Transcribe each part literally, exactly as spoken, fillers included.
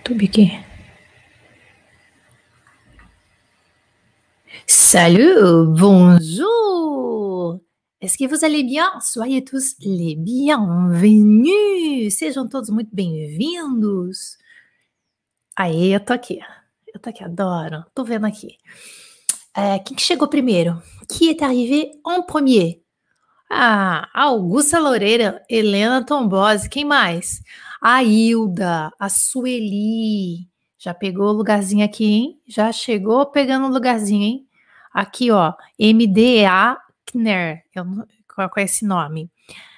YouTube aqui. Salut, bonjour. Est-ce que vous allez bien? Soyez tous les bienvenus. Sejam todos muito bem-vindos. Aê, eu tô aqui. Eu tô aqui, adoro. Tô vendo aqui. É, quem que chegou primeiro? Qui est arrivé en premier? Ah, Augusta Loureira, Helena Tombose, quem mais? A Hilda, a Sueli. Já pegou o lugarzinho aqui, hein? Já chegou pegando o lugarzinho, hein? Aqui, ó, M D A Kner, eu não, qual é esse nome?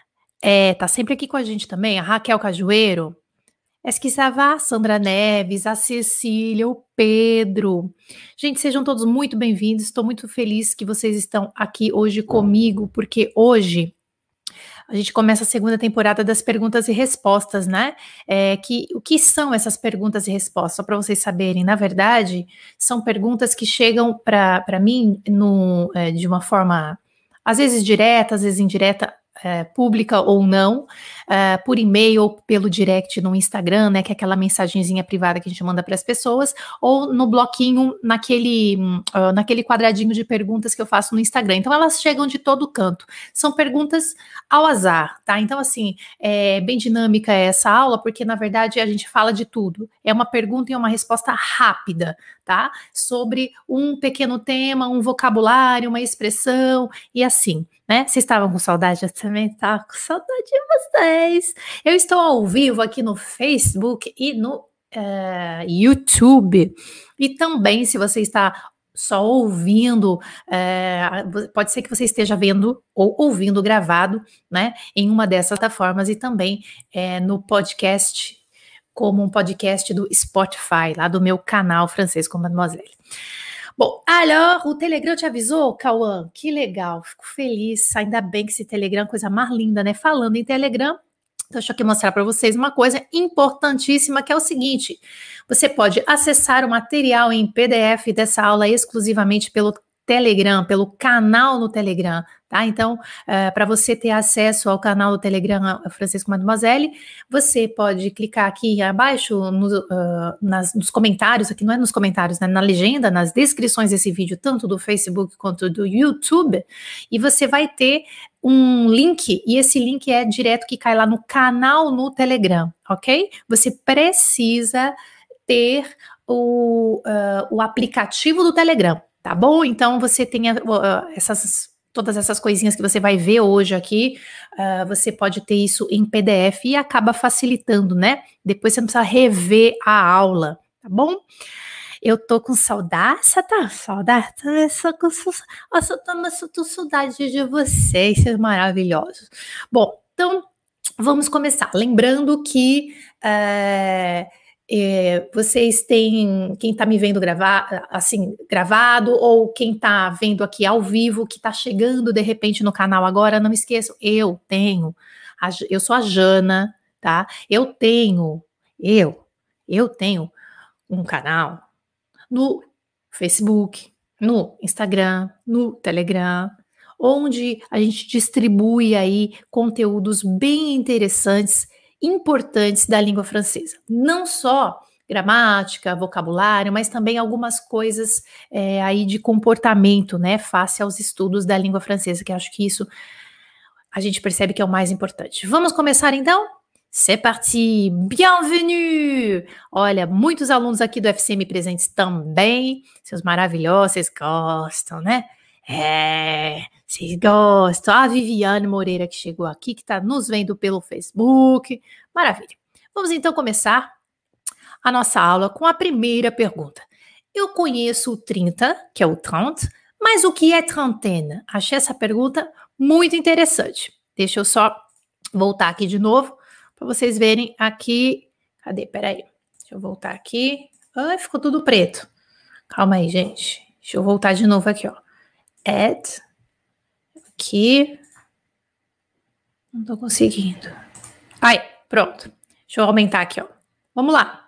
É, tá sempre aqui com a gente também, a Raquel Cajueiro. Est-ce que ça va? Sandra Neves, a Cecília, o Pedro. Gente, sejam todos muito bem-vindos. Estou muito feliz que vocês estão aqui hoje comigo, porque hoje a gente começa a segunda temporada das perguntas e respostas, né? É, que, o que são essas perguntas e respostas? Só para vocês saberem, na verdade, são perguntas que chegam para mim no, é, de uma forma, às vezes direta, às vezes indireta, É, pública ou não, é, por e-mail ou pelo direct no Instagram, né, que é aquela mensagenzinha privada que a gente manda para as pessoas, ou no bloquinho, naquele, uh, naquele quadradinho de perguntas que eu faço no Instagram. Então, elas chegam de todo canto. São perguntas ao azar, tá? Então, assim, é bem dinâmica essa aula, porque, na verdade, a gente fala de tudo. É uma pergunta e uma resposta rápida, tá? Sobre um pequeno tema, um vocabulário, uma expressão, e assim, né? Vocês estavam com saudade? Eu também estava com saudade de vocês. Eu estou ao vivo aqui no Facebook e no uh, YouTube. E também, se você está só ouvindo, uh, pode ser que você esteja vendo ou ouvindo gravado, né? Em uma dessas plataformas e também uh, no podcast, como um podcast do Spotify, lá do meu canal Francês com Mademoiselle. Bom, alors, o Telegram te avisou, Cauã? Que legal, fico feliz, ainda bem que esse Telegram é coisa mais linda, né? Falando em Telegram, então deixa eu aqui mostrar para vocês uma coisa importantíssima, que é o seguinte, você pode acessar o material em P D F dessa aula exclusivamente pelo Telegram, pelo canal no Telegram, tá? Então, uh, para você ter acesso ao canal do Telegram Francês com Mademoiselle, você pode clicar aqui abaixo no, uh, nas, nos comentários, aqui não é nos comentários, né? Na legenda, nas descrições desse vídeo, tanto do Facebook quanto do YouTube, e você vai ter um link, e esse link é direto que cai lá no canal no Telegram, ok? Você precisa ter o, uh, o aplicativo do Telegram, tá bom? Então você tem uh, essas, todas essas coisinhas que você vai ver hoje aqui, uh, você pode ter isso em P D F e acaba facilitando, né? Depois você não precisa rever a aula, tá bom? Eu tô com saudade, você tá com saudade? Eu só com, eu tô, eu tô saudade de vocês, vocês maravilhosos. Bom, então vamos começar. Lembrando que uh, É, vocês têm, quem está me vendo gravar, assim, gravado, ou quem está vendo aqui ao vivo, que está chegando de repente no canal agora, não esqueçam, eu tenho, a, eu sou a Jana, tá? Eu tenho, eu, eu tenho um canal no Facebook, no Instagram, no Telegram, onde a gente distribui aí conteúdos bem interessantes, importantes da língua francesa. Não só gramática, vocabulário, mas também algumas coisas é, aí de comportamento, né, face aos estudos da língua francesa, que acho que isso a gente percebe que é o mais importante. Vamos começar então? C'est parti! Bienvenue! Olha, muitos alunos aqui do F C M presentes também, seus maravilhosos, vocês gostam, né? É, vocês gostam. A Viviane Moreira que chegou aqui, que está nos vendo pelo Facebook. Maravilha. Vamos então começar a nossa aula com a primeira pergunta. Eu conheço o trinta, que é o trente, mas o que é trentaine? Achei essa pergunta muito interessante. Deixa eu só voltar aqui de novo para vocês verem aqui. Cadê? Peraí. Deixa eu voltar aqui. Ai, ficou tudo preto. Calma aí, gente. Deixa eu voltar de novo aqui, ó. Add. Aqui. Não tô conseguindo. Aí, pronto. Deixa eu aumentar aqui, ó. Vamos lá.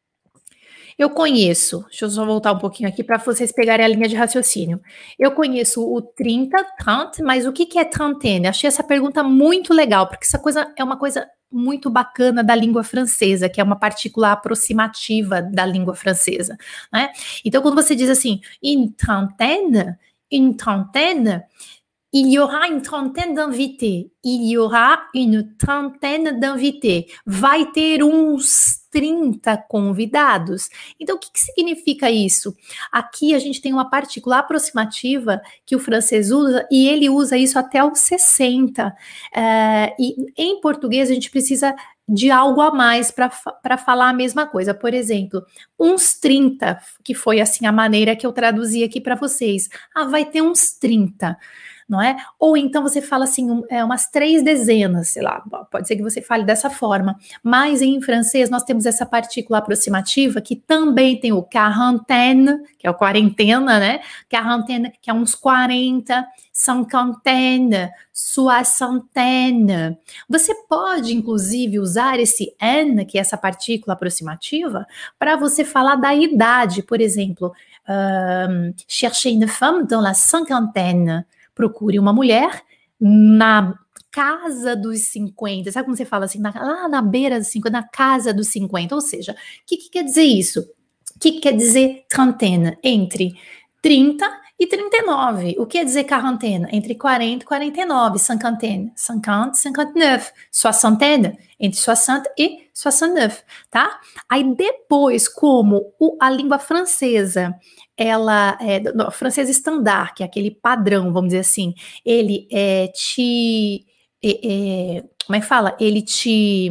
Eu conheço, deixa eu só voltar um pouquinho aqui para vocês pegarem a linha de raciocínio. Eu conheço o trinta, trente, mas o que que é trentaine? Achei essa pergunta muito legal, porque essa coisa é uma coisa muito bacana da língua francesa, que é uma partícula aproximativa da língua francesa, né? Então, quando você diz assim, une trentaine, une trentaine, il y aura une trentaine d'invités. Il y aura une trentaine d'invités. Vai ter uns trinta convidados. Então, o que, que significa isso? Aqui a gente tem uma partícula aproximativa que o francês usa e ele usa isso até os sessenta. É, e em português a gente precisa de algo a mais para falar a mesma coisa. Por exemplo, uns trinta, que foi assim a maneira que eu traduzi aqui para vocês. Ah, vai ter uns trinta. Não é? Ou então você fala assim, um, é, umas três dezenas, sei lá, pode ser que você fale dessa forma, mas em francês nós temos essa partícula aproximativa que também tem o quarantaine, que é o quarentena, né? Quarantaine, que é uns quarenta, cinquantaine, soixantaine. Você pode, inclusive, usar esse N, que é essa partícula aproximativa, para você falar da idade, por exemplo, um, cherchez une femme dans la cinquantaine. Procure uma mulher na casa dos cinquenta. Sabe como você fala assim? Na, lá na beira dos cinquenta, na casa dos cinquenta. Ou seja, o que, que quer dizer isso? O que, que quer dizer trentaine? Entre trinta e trinta e nove. O que quer dizer quarantaine? Entre quarenta e quarenta e nove. Cinquantaine. cinquenta, cinquenta e nove. Soixantaine. Entre soixante e soixante e nove. Tá? Aí depois, como o, a língua francesa... ela, é, no, francês estandar, que é aquele padrão, vamos dizer assim, ele é, te, é, é, como é que fala? Ele te,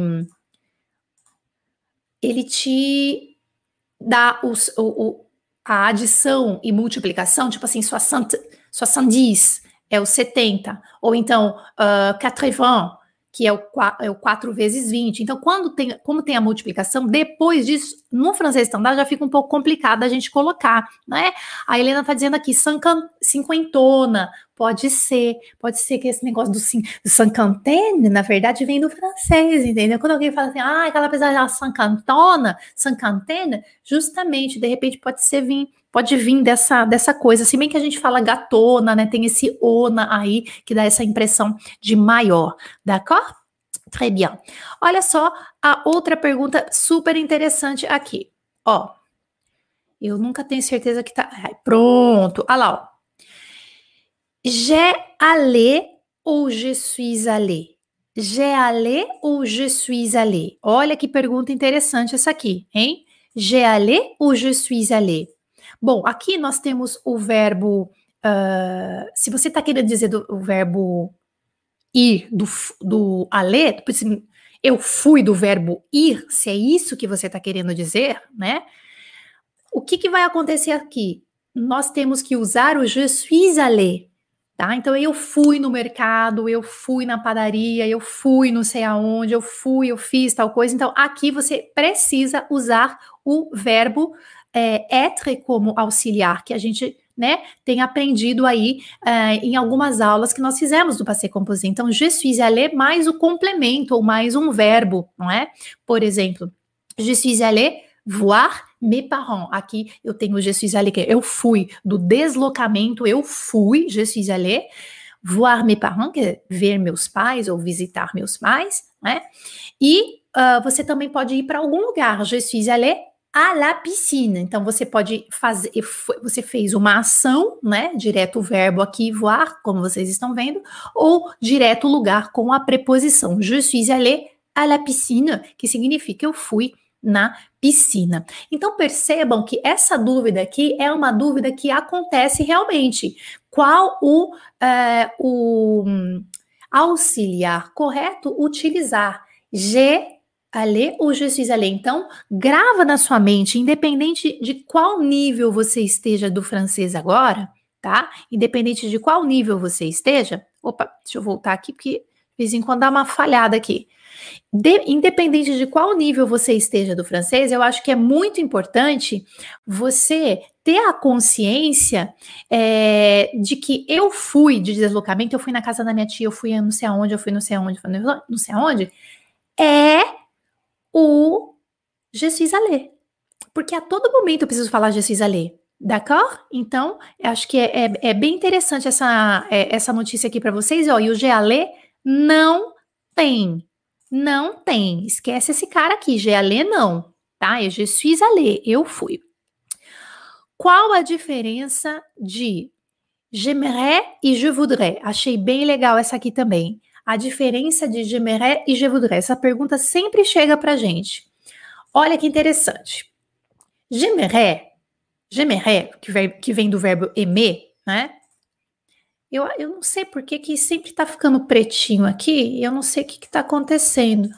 ele te dá os, o, o, a adição e multiplicação, tipo assim, soixante, soixante-dix é o setenta, ou então uh, quatre-vingts, que é o, é o quatro vezes vinte. Então, quando tem, como tem a multiplicação, depois disso, no francês estandar já fica um pouco complicado a gente colocar, né? A Helena está dizendo aqui, cinquentona, pode ser, pode ser que esse negócio do, do cinquantaine, na verdade, vem do francês, entendeu? Quando alguém fala assim, ah, aquela pessoa da cinquentona, cinquantaine, justamente, de repente, pode ser vir, pode vir dessa, dessa coisa, se bem que a gente fala gatona, né, tem esse ona aí, que dá essa impressão de maior, d'accord? Très bien. Olha só a outra pergunta super interessante aqui, ó, eu nunca tenho certeza que tá, ai, pronto, olha lá, ó. J'ai allé ou je suis allé? J'ai allé ou je suis allé? Olha que pergunta interessante essa aqui, hein? J'ai allé ou je suis allé? Bom, aqui nós temos o verbo, uh, se você está querendo dizer do, o verbo ir, do, do aller, eu fui do verbo ir, se é isso que você está querendo dizer, né? O que, que vai acontecer aqui? Nós temos que usar o je suis allé, tá? Então, eu fui no mercado, eu fui na padaria, eu fui não sei aonde, eu fui, eu fiz tal coisa. Então, aqui você precisa usar o verbo é, être como auxiliar, que a gente, né, tem aprendido aí é, em algumas aulas que nós fizemos do passé composé. Então, je suis allé mais o complemento ou mais um verbo, não é? Por exemplo, je suis allé voir mes parents. Aqui eu tenho je suis allé, que eu fui, do deslocamento, eu fui, je suis allé voir mes parents, que é ver meus pais ou visitar meus pais, né? E uh, você também pode ir para algum lugar, je suis allé à la piscine. Então você pode fazer, você fez uma ação, né? Direto o verbo aqui, voir, como vocês estão vendo, ou direto o lugar com a preposição je suis allé à la piscine, que significa eu fui na piscina. Então percebam que essa dúvida aqui é uma dúvida que acontece realmente. Qual o, uh, o auxiliar correto utilizar? Je allé ou je suis allé? Então grava na sua mente, independente de qual nível você esteja do francês agora, tá? Independente de qual nível você esteja. Opa, deixa eu voltar aqui porque de vez em quando dá uma falhada aqui. De, independente de qual nível você esteja do francês, eu acho que é muito importante você ter a consciência é, de que eu fui de deslocamento, eu fui na casa da minha tia, eu fui não sei aonde, eu fui não sei aonde, não sei aonde, é o je suis allé. Porque a todo momento eu preciso falar je suis allé. D'accord? Então, eu acho que é, é, é bem interessante essa, é, essa notícia aqui para vocês. Ó, e o je allé não tem Não tem. Esquece esse cara aqui. Je allé, não. Tá? É je suis allé. Eu fui. Qual a diferença de j'aimerais e je voudrais? Achei bem legal essa aqui também. A diferença de j'aimerais e je voudrais. Essa pergunta sempre chega pra gente. Olha que interessante. J'aimerais, j'aimerais, que vem, que vem do verbo aimer, né? Eu, eu não sei por que que sempre tá ficando pretinho aqui, eu não sei o que que tá acontecendo.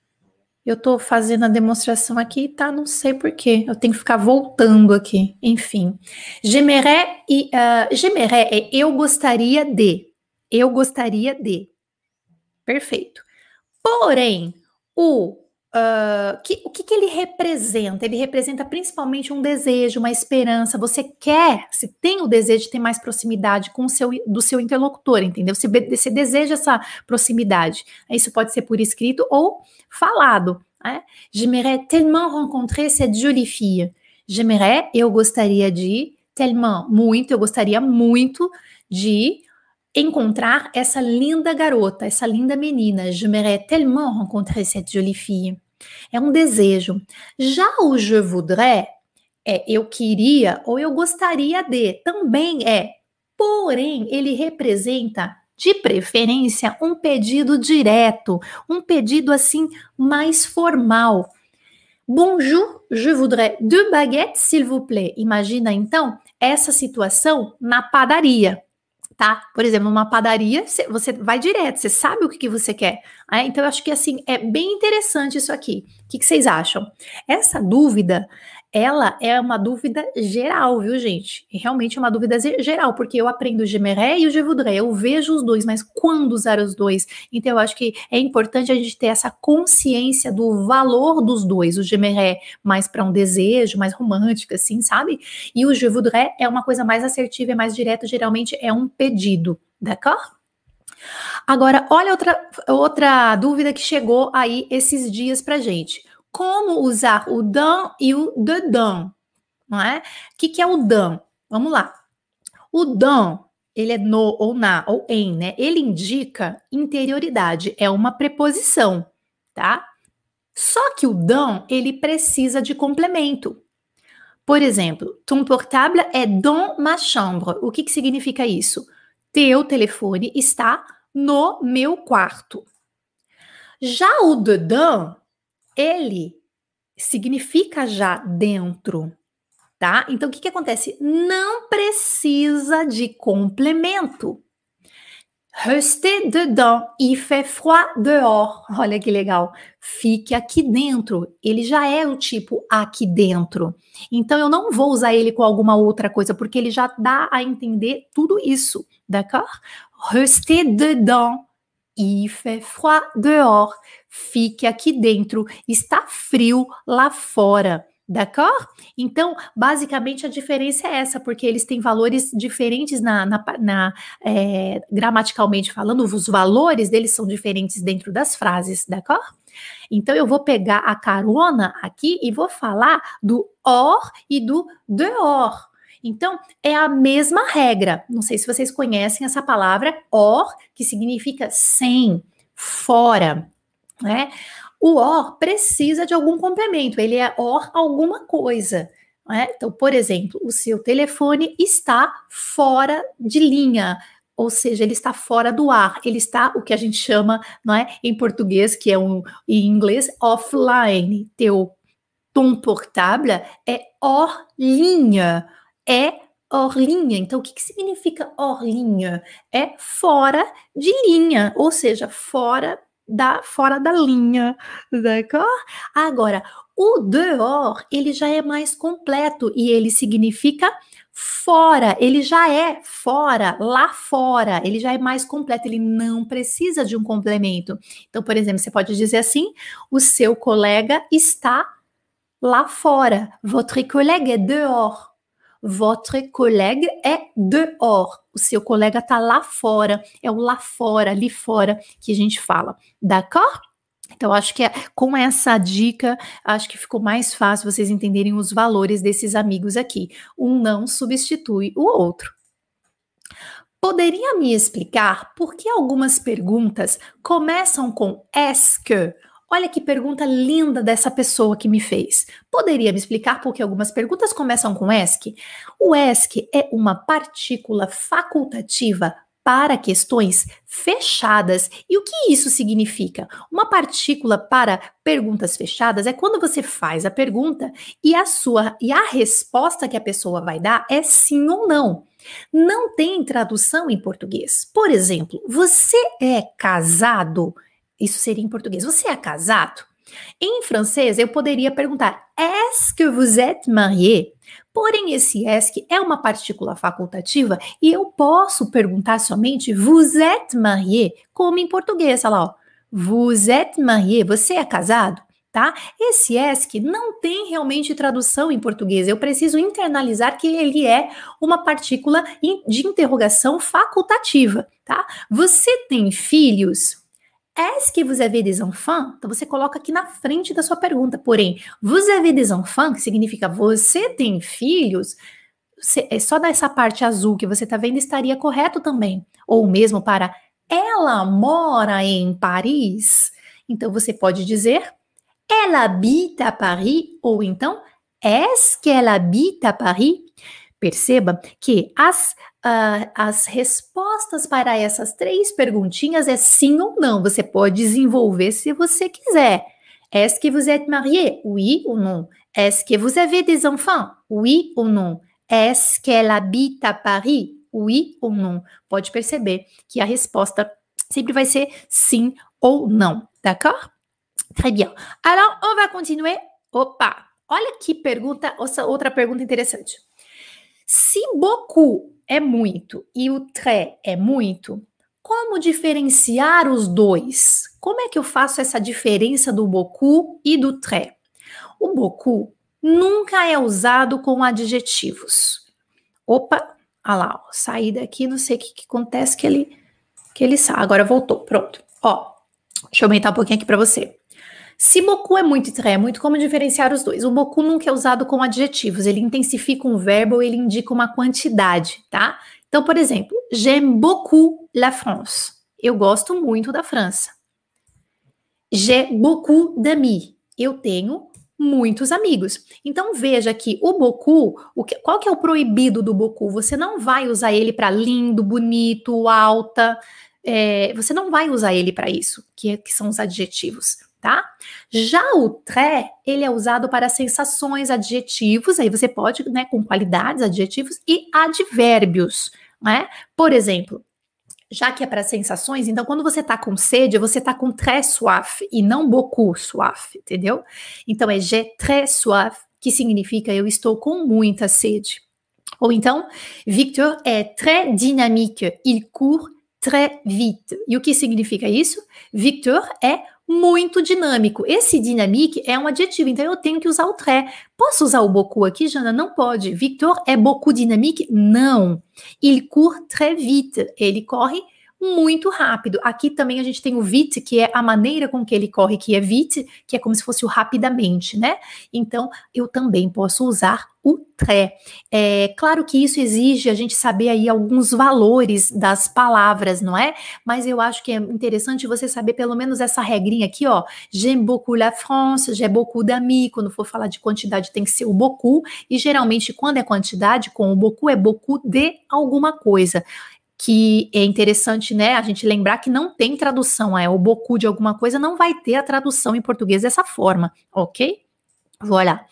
Eu tô fazendo a demonstração aqui, tá? Não sei por quê. Eu tenho que ficar voltando aqui. Enfim. J'aimerais e uh, j'aimerais é eu gostaria de. Eu gostaria de. Perfeito. Porém, o, uh, que, o que, que ele representa? Ele representa principalmente um desejo, uma esperança. Você quer, você tem o desejo de ter mais proximidade com o seu, do seu interlocutor, entendeu? Você, você deseja essa proximidade. Isso pode ser por escrito ou falado. Né? J'aimerais tellement rencontrer cette jolie fille. J'aimerais, eu gostaria de, tellement, muito, eu gostaria muito de encontrar essa linda garota, essa linda menina. J'aimerais tellement rencontrer cette jolie fille. É um desejo. Já o je voudrais é eu queria ou eu gostaria de. Também é. Porém, ele representa, de preferência, um pedido direto, um pedido assim mais formal. Bonjour, je voudrais deux baguettes, s'il vous plaît. Imagina então essa situação na padaria. Tá? Por exemplo, numa padaria, você vai direto, você sabe o que, que você quer. Né? Então, eu acho que, assim, é bem interessante isso aqui. O que, que vocês acham? Essa dúvida, ela é uma dúvida geral, viu, gente? E realmente é uma dúvida geral, porque eu aprendo o j'aimerais e o je voudrais, eu vejo os dois, mas quando usar os dois? Então, eu acho que é importante a gente ter essa consciência do valor dos dois. O j'aimerais mais para um desejo, mais romântico, assim, sabe? E o je voudrais é uma coisa mais assertiva, é mais direto, geralmente é um pedido, d'accord? Agora, olha outra, outra dúvida que chegou aí esses dias pra gente. Como usar o dans e o dedans, não é? O que, que é o dans? Vamos lá. O dans, ele é no ou na ou em, né? Ele indica interioridade, é uma preposição, tá? Só que o dans, ele precisa de complemento. Por exemplo, ton portable est dans ma chambre. O que, que significa isso? Teu telefone está no meu quarto. Já o dedans, ele significa já dentro, tá? Então, o que, que acontece? Não precisa de complemento. Restez dedans, il fait froid dehors. Olha que legal. Fique aqui dentro. Ele já é o tipo aqui dentro. Então, eu não vou usar ele com alguma outra coisa, porque ele já dá a entender tudo isso, d'accord? Restez dedans, il fait froid dehors. Fique aqui dentro. Está frio lá fora. D'accord? Então, basicamente, a diferença é essa, porque eles têm valores diferentes na, na, na é, gramaticalmente falando, os valores deles são diferentes dentro das frases, d'accord? Então, eu vou pegar a carona aqui e vou falar do or e do dehors. Então, é a mesma regra. Não sei se vocês conhecem essa palavra or, que significa sem, fora, né? O or precisa de algum complemento, ele é or alguma coisa. Né? Então, por exemplo, o seu telefone está fora de linha, ou seja, ele está fora do ar, ele está o que a gente chama, não é, em português, que é um, em inglês, offline. Teu ton portable é hors linha, é hors linha. Então, o que, que significa hors linha? É fora de linha, ou seja, fora da, fora da linha, d'accord? Agora, o dehors, ele já é mais completo e ele significa fora, ele já é fora, lá fora, ele já é mais completo, ele não precisa de um complemento. Então, por exemplo, você pode dizer assim, o seu colega está lá fora, votre collègue est dehors. Votre collègue é dehors. O seu colega tá lá fora. É o lá fora, ali fora que a gente fala. D'accord? Então, acho que é, com essa dica, acho que ficou mais fácil vocês entenderem os valores desses amigos aqui. Um não substitui o outro. Poderia me explicar por que algumas perguntas começam com est-ce que? Olha que pergunta linda dessa pessoa que me fez. Poderia me explicar por que algumas perguntas começam com est-ce que? O est-ce que é uma partícula facultativa para questões fechadas. E o que isso significa? Uma partícula para perguntas fechadas é quando você faz a pergunta e a sua e a resposta que a pessoa vai dar é sim ou não. Não tem tradução em português. Por exemplo, você é casado? Isso seria em português. Você é casado? Em francês, eu poderia perguntar: est-ce que vous êtes marié? Porém, esse est que é uma partícula facultativa e eu posso perguntar somente vous êtes marié, como em português. Olha lá, ó. Vous êtes marié? Você é casado? Tá? Esse est que não tem realmente tradução em português. Eu preciso internalizar que ele é uma partícula de interrogação facultativa, tá? Você tem filhos? Est-ce que vous avez des enfants? Então você coloca aqui na frente da sua pergunta. Porém, vous avez des enfants, que significa você tem filhos, é só dessa parte azul que você está vendo estaria correto também. Ou mesmo para ela mora em Paris. Então você pode dizer elle habite à Paris, ou então, est-ce qu'elle habite à Paris? Perceba que as, uh, as respostas para essas três perguntinhas é sim ou não. Você pode desenvolver se você quiser. Est-ce que vous êtes marié? Oui ou non? Est-ce que vous avez des enfants? Oui ou non? Est-ce qu'elle habite à Paris? Oui ou non? Pode perceber que a resposta sempre vai ser sim ou não, d'accord? Très bien. Alors, on va continuer. Opa! Olha que pergunta, outra pergunta interessante. Se beaucoup é muito e o très é muito, como diferenciar os dois? Como é que eu faço essa diferença do beaucoup e do très? O beaucoup nunca é usado com adjetivos. Opa! Olha lá, ó, saí daqui, não sei o que, que acontece que ele, que ele sai. Agora voltou, pronto. Ó, deixa eu aumentar um pouquinho aqui para você. Se beaucoup é muito e très é muito, como diferenciar os dois? O beaucoup nunca é usado com adjetivos, ele intensifica um verbo ou ele indica uma quantidade, tá? Então, por exemplo, j'aime beaucoup la France. Eu gosto muito da França. J'ai beaucoup d'amis. Eu tenho muitos amigos. Então, veja que o beaucoup, o que, qual que é o proibido do beaucoup? Você não vai usar ele para lindo, bonito, alta, é, você não vai usar ele para isso, que, que são os adjetivos. Tá? Já o très, ele é usado para sensações, adjetivos, aí você pode, né, com qualidades, adjetivos e advérbios, né? Por exemplo, já que é para sensações, então quando você tá com sede, você tá com très soif e não beaucoup soif, entendeu? Então é j'ai très soif, que significa eu estou com muita sede. Ou então, Victor é très dynamique, il court très vite. E o que significa isso? Victor é muito dinâmico. Esse dynamique é um adjetivo, então eu tenho que usar o très. Posso usar o beaucoup aqui, Jana? Não pode. Victor é beaucoup dynamique? Não. Il court très vite. Ele corre muito rápido. Aqui também a gente tem o vite, que é a maneira com que ele corre, que é vite, que é como se fosse o rapidamente, né? Então, eu também posso usar o très. É claro que isso exige a gente saber aí alguns valores das palavras, não é? Mas eu acho que é interessante você saber pelo menos essa regrinha aqui, ó. J'aime beaucoup la France, j'ai beaucoup d'amis. Quando for falar de quantidade tem que ser o beaucoup. E geralmente quando é quantidade, com o beaucoup é beaucoup de alguma coisa. Que é interessante, né, a gente lembrar que não tem tradução, é o beaucoup de alguma coisa, não vai ter a tradução em português dessa forma, ok? Voilà.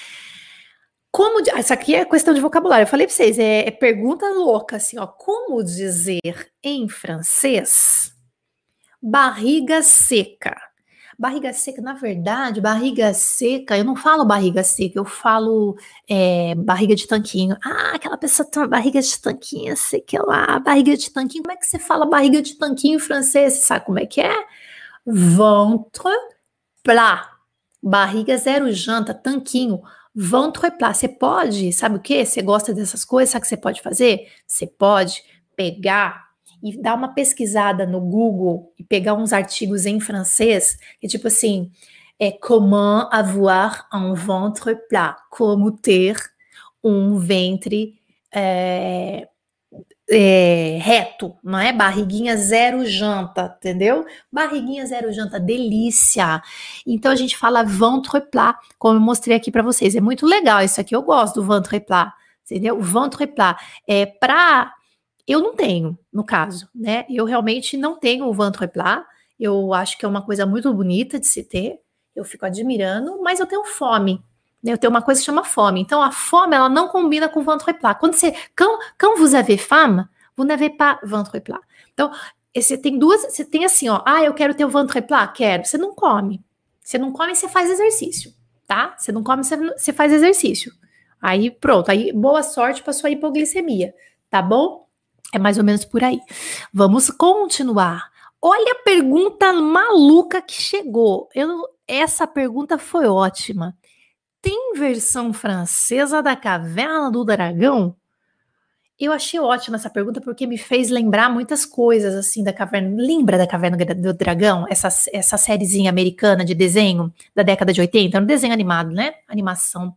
Como, essa aqui é questão de vocabulário, eu falei para vocês, é, é pergunta louca, assim, ó, como dizer em francês barriga seca? Barriga seca, na verdade, barriga seca, eu não falo barriga seca, eu falo é, barriga de tanquinho. Ah, aquela pessoa tem uma barriga de tanquinho, sei que lá, barriga de tanquinho. Como é que você fala barriga de tanquinho em francês? Você sabe como é que é? Ventre plat. Barriga zero janta, tanquinho. Ventre plat. Você pode, sabe o que? Você gosta dessas coisas, sabe o que você pode fazer? Você pode pegar e dar uma pesquisada no Google e pegar uns artigos em francês, que tipo assim, é comment avoir un ventre plat, como ter um ventre é, é, reto, não é? Barriguinha zero janta, entendeu? Barriguinha zero janta, delícia. Então a gente fala ventre plat, como eu mostrei aqui para vocês. É muito legal isso aqui, eu gosto do ventre plat, entendeu? O ventre plat é para eu não tenho, no caso, né? Eu realmente não tenho o ventre plat. Eu acho que é uma coisa muito bonita de se ter. Eu fico admirando, mas eu tenho fome. Né? Eu tenho uma coisa que chama fome. Então a fome ela não combina com o ventre plat. Quando você, quand, quand vous avez faim, vous n'avez pas ventre plat. Então você tem duas, você tem assim, ó. Ah, eu quero ter o ventre plat, quero. Você não come. Você não come, você faz exercício, tá? Você não come, você, você faz exercício. Aí pronto. Aí boa sorte para sua hipoglicemia, tá bom? É mais ou menos por aí. Vamos continuar. Olha a pergunta maluca que chegou. Eu, essa pergunta foi ótima. Tem versão francesa da Caverna do Dragão? Eu achei ótima essa pergunta porque me fez lembrar muitas coisas assim da Caverna. Lembra da Caverna do Dragão? Essa, essa sériezinha americana de desenho da década de oitenta? Era um desenho animado, né? Animação.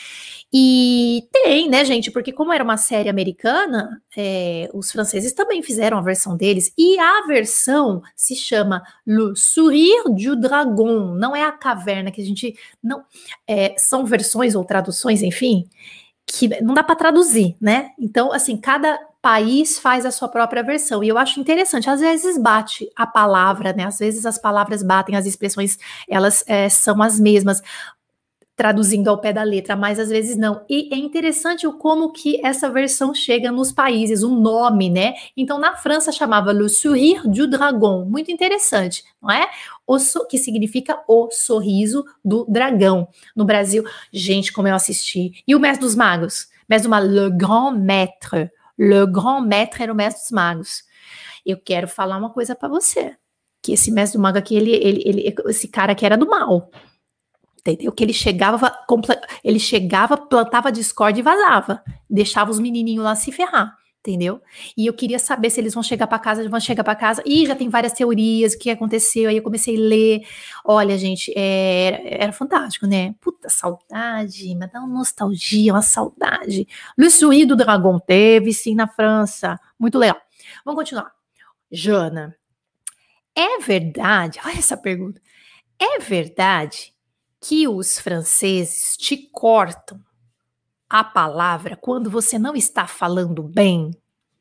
E tem, né, gente? Porque como era uma série americana, é, os franceses também fizeram a versão deles. E a versão se chama Le Sourire du Dragon. Não é a caverna que a gente... não é, são versões ou traduções, enfim, que não dá para traduzir, né? Então, assim, cada país faz a sua própria versão. E eu acho interessante. Às vezes bate a palavra, né? Às vezes as palavras batem, as expressões, elas é, são as mesmas, traduzindo ao pé da letra, mas às vezes não. E é interessante o como que essa versão chega nos países, o nome, né? Então, na França chamava Le Sourire du Dragon, muito interessante, não é? O so, que significa o sorriso do dragão. No Brasil, gente, como eu assisti. E o Mestre dos Magos? Mestre do Mago, Le Grand Maître. Le Grand Maître era o Mestre dos Magos. Eu quero falar uma coisa para você, que esse Mestre do Mago aqui, ele, ele, ele, esse cara aqui era do mal. Entendeu? Que ele chegava, ele chegava, plantava discórdia e vazava. Deixava os menininhos lá se ferrar, entendeu? E eu queria saber se eles vão chegar para casa, vão chegar para casa. Ih, já tem várias teorias, o que aconteceu. Aí eu comecei a ler. Olha, gente, era, era fantástico, né? Puta saudade, mas dá uma nostalgia, uma saudade. Le Sourire du Dragon teve, sim, na França. Muito legal. Vamos continuar. Jana, é verdade? Olha essa pergunta. É verdade que os franceses te cortam a palavra quando você não está falando bem?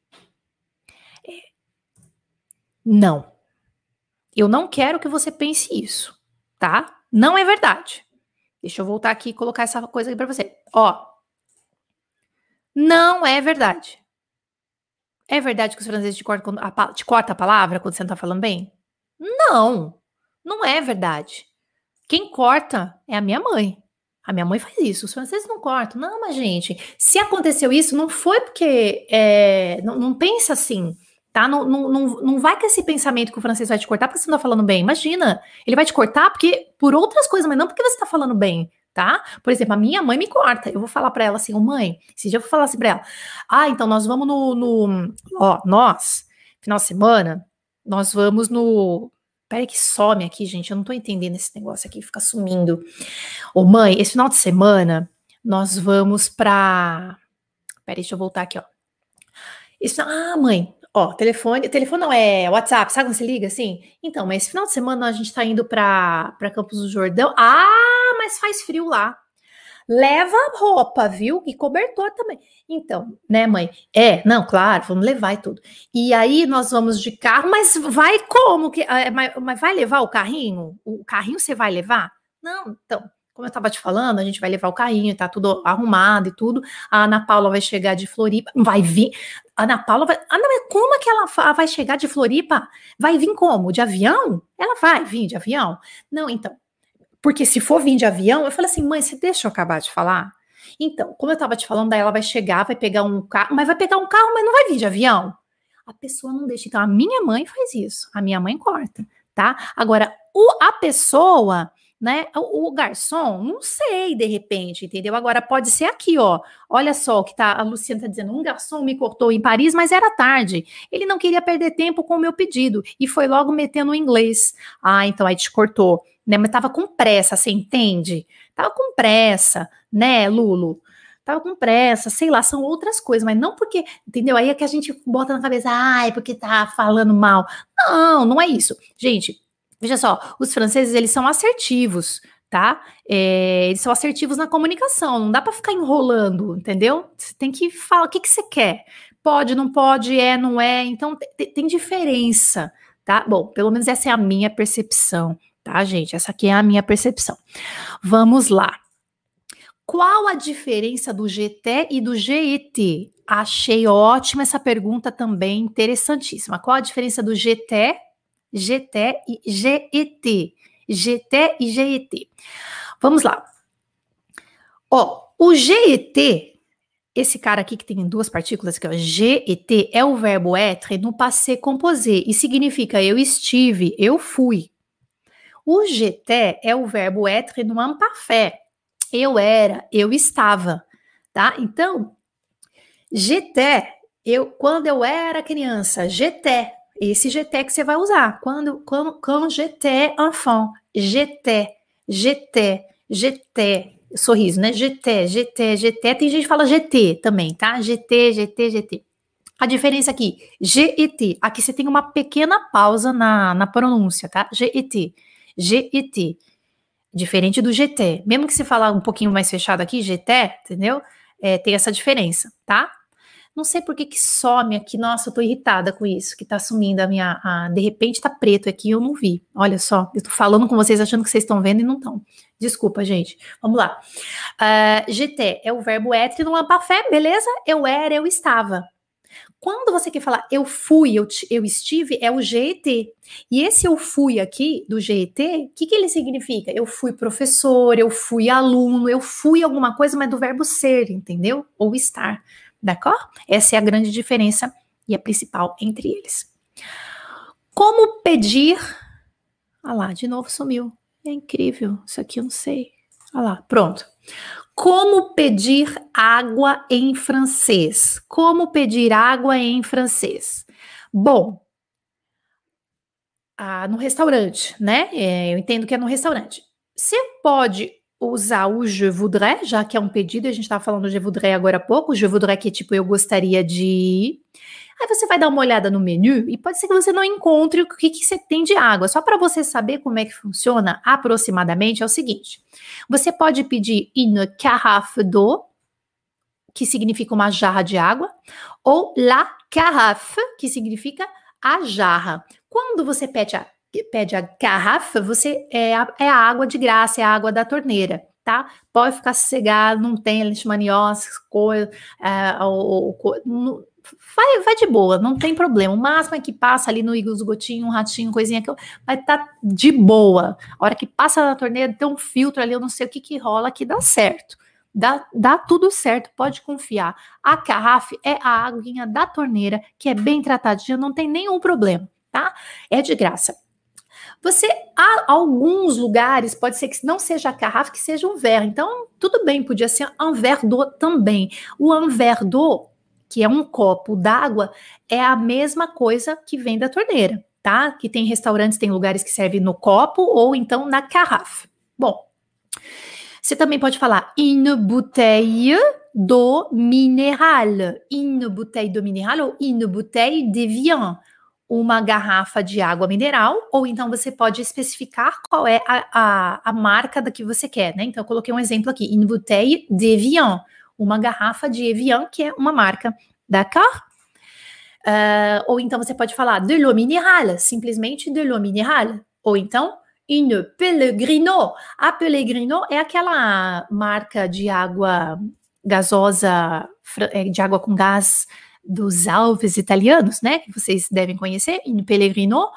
É. Não. Eu não quero que você pense isso, tá? Não é verdade. Deixa eu voltar aqui e colocar essa coisa aqui para você. Ó. Não é verdade. É verdade que os franceses te cortam, a, te cortam a palavra quando você não está falando bem? Não. Não é verdade. Quem corta é a minha mãe. A minha mãe faz isso. Os franceses não cortam. Não, mas gente, se aconteceu isso, não foi porque... É, não, não pensa assim, tá? Não, não, não, não vai com esse pensamento que o francês vai te cortar porque você não tá falando bem. Imagina, ele vai te cortar porque por outras coisas, mas não porque você tá falando bem, tá? Por exemplo, a minha mãe me corta. Eu vou falar pra ela assim, ô mãe, esse dia eu vou falar assim pra ela. Ah, então nós vamos no... no ó, nós, final de semana, nós vamos no... Peraí que some aqui, gente. Eu não tô entendendo esse negócio aqui, fica sumindo. Ô, mãe, esse final de semana, nós vamos pra... Peraí, deixa eu voltar aqui, ó. Esse... Ah, mãe, ó, telefone... Telefone não, é WhatsApp, sabe quando você liga assim? Então, mas esse final de semana a gente tá indo pra, pra Campos do Jordão. Ah, mas faz frio lá. Leva roupa, viu? E cobertor também. Então, né, mãe? É, não, claro, vamos levar e tudo. E aí nós vamos de carro, mas vai como? Que, mas, mas vai levar o carrinho? O carrinho você vai levar? Não, então, como eu tava te falando, a gente vai levar o carrinho, tá tudo arrumado e tudo. A Ana Paula vai chegar de Floripa, vai vir. A Ana Paula vai. Ah, não, mas como é que ela vai chegar de Floripa? Vai vir como? De avião? Ela vai vir de avião? Não, então. Porque se for vir de avião, eu falei assim, mãe, você deixa eu acabar de falar? Então, como eu tava te falando, daí ela vai chegar, vai pegar um carro, mas vai pegar um carro, mas não vai vir de avião? A pessoa não deixa. Então, a minha mãe faz isso. A minha mãe corta, tá? Agora, o, a pessoa, né? O, o garçom, não sei, de repente, entendeu? Agora, pode ser aqui, ó. Olha só o que tá, a Luciana tá dizendo. Um garçom me cortou em Paris, mas era tarde. Ele não queria perder tempo com o meu pedido e foi logo metendo o inglês. Ah, então aí te cortou. Né, mas tava com pressa, você entende? Tava com pressa, né, Lulu? tava com pressa, sei lá, são outras coisas, mas não porque, entendeu? Aí é que a gente bota na cabeça, ai, porque tá falando mal. Não, não é isso. Gente, veja só, os franceses, eles são assertivos, tá? É, eles são assertivos na comunicação, não dá pra ficar enrolando, entendeu? Você tem que falar o que, que você quer. Pode, não pode, é, não é, então tem, tem diferença, tá? Bom, pelo menos essa é a minha percepção, tá, gente? Essa aqui é a minha percepção. Vamos lá. Qual a diferença do G T e do G E T? Achei ótima essa pergunta também, interessantíssima. Qual a diferença do G T, G T e G E T? G T e G E T. Vamos lá. Ó, o G E T, esse cara aqui que tem duas partículas, que é o G E T, é o verbo être no passé composé e significa eu estive, eu fui. O G T é o verbo être no imparfait. Eu era, eu estava, tá? Então, G T, eu, quando eu era criança, G T, esse G T que você vai usar. Quando, quando, quand j'étais enfant, G T, G T, G T, sorriso, né? G T, G T, G T. Tem gente que fala G T também, tá? G T, G T, G T. A diferença aqui, G E T. Aqui você tem uma pequena pausa na, na pronúncia, tá? G E T, G E T. Diferente do G T. Mesmo que você falar um pouquinho mais fechado aqui, G T, entendeu? É, tem essa diferença, tá? Não sei por que que some aqui. Nossa, eu tô irritada com isso, que tá sumindo a minha... A, de repente tá preto aqui, eu não vi. Olha só, eu tô falando com vocês achando que vocês estão vendo e não estão. Desculpa, gente. Vamos lá. Uh, G T é o verbo être no imparfait, beleza? Eu era, eu estava. Quando você quer falar eu fui, eu, eu estive, é o G E T. E esse eu fui aqui, do G E T, o que, que ele significa? Eu fui professor, eu fui aluno, eu fui alguma coisa, mas do verbo ser, entendeu? Ou estar, d'accord? Essa é a grande diferença e a principal entre eles. Como pedir... Ah lá, de novo sumiu. É incrível, isso aqui eu não sei. Ah lá, pronto. Como pedir água em francês? Como pedir água em francês? Bom, ah, no restaurante, né? É, eu entendo que é no restaurante. Você pode usar o je voudrais, já que é um pedido, a gente estava falando do je voudrais agora há pouco, o je voudrais que é tipo eu gostaria de... Aí você vai dar uma olhada no menu e pode ser que você não encontre o que, que você tem de água. Só para você saber como é que funciona aproximadamente é o seguinte. Você pode pedir une carafe d'eau, que significa uma jarra de água, ou la carafe, que significa a jarra. Quando você pede a, pede a garrafa, você é a, é a água de graça, é a água da torneira, tá? Pode ficar sossegado, não tem leishmaniose, coisa, é, ou, ou, Vai, vai de boa, não tem problema. O máximo é que passa ali no esgotinho, um ratinho, coisinha que vai estar tá de boa. A hora que passa na torneira, tem um filtro ali, eu não sei o que que rola, que dá certo. Dá, dá tudo certo, pode confiar. A carafe é a aguinha da torneira, que é bem tratadinha, não tem nenhum problema, tá? É de graça. Você, há alguns lugares, pode ser que não seja a carafe, que seja um verre. Então, tudo bem, podia ser un verre d'eau também. O un verre d'eau, que é um copo d'água, é a mesma coisa que vem da torneira, tá? Que tem restaurantes, tem lugares que servem no copo ou então na carafe. Bom, você também pode falar une bouteille d'eau minérale, une bouteille d'eau minérale ou une bouteille de vin, uma garrafa de água mineral, ou então você pode especificar qual é a, a, a marca da que você quer, né? Então eu coloquei um exemplo aqui, une bouteille de vin, uma garrafa de Evian, que é uma marca, d'accord? Uh, ou então você pode falar de l'eau minérale, simplesmente de l'eau minérale. Ou então, une Pellegrino. A Pellegrino é aquela marca de água gasosa, de água com gás dos Alpes italianos, né? Que vocês devem conhecer, une Pellegrino.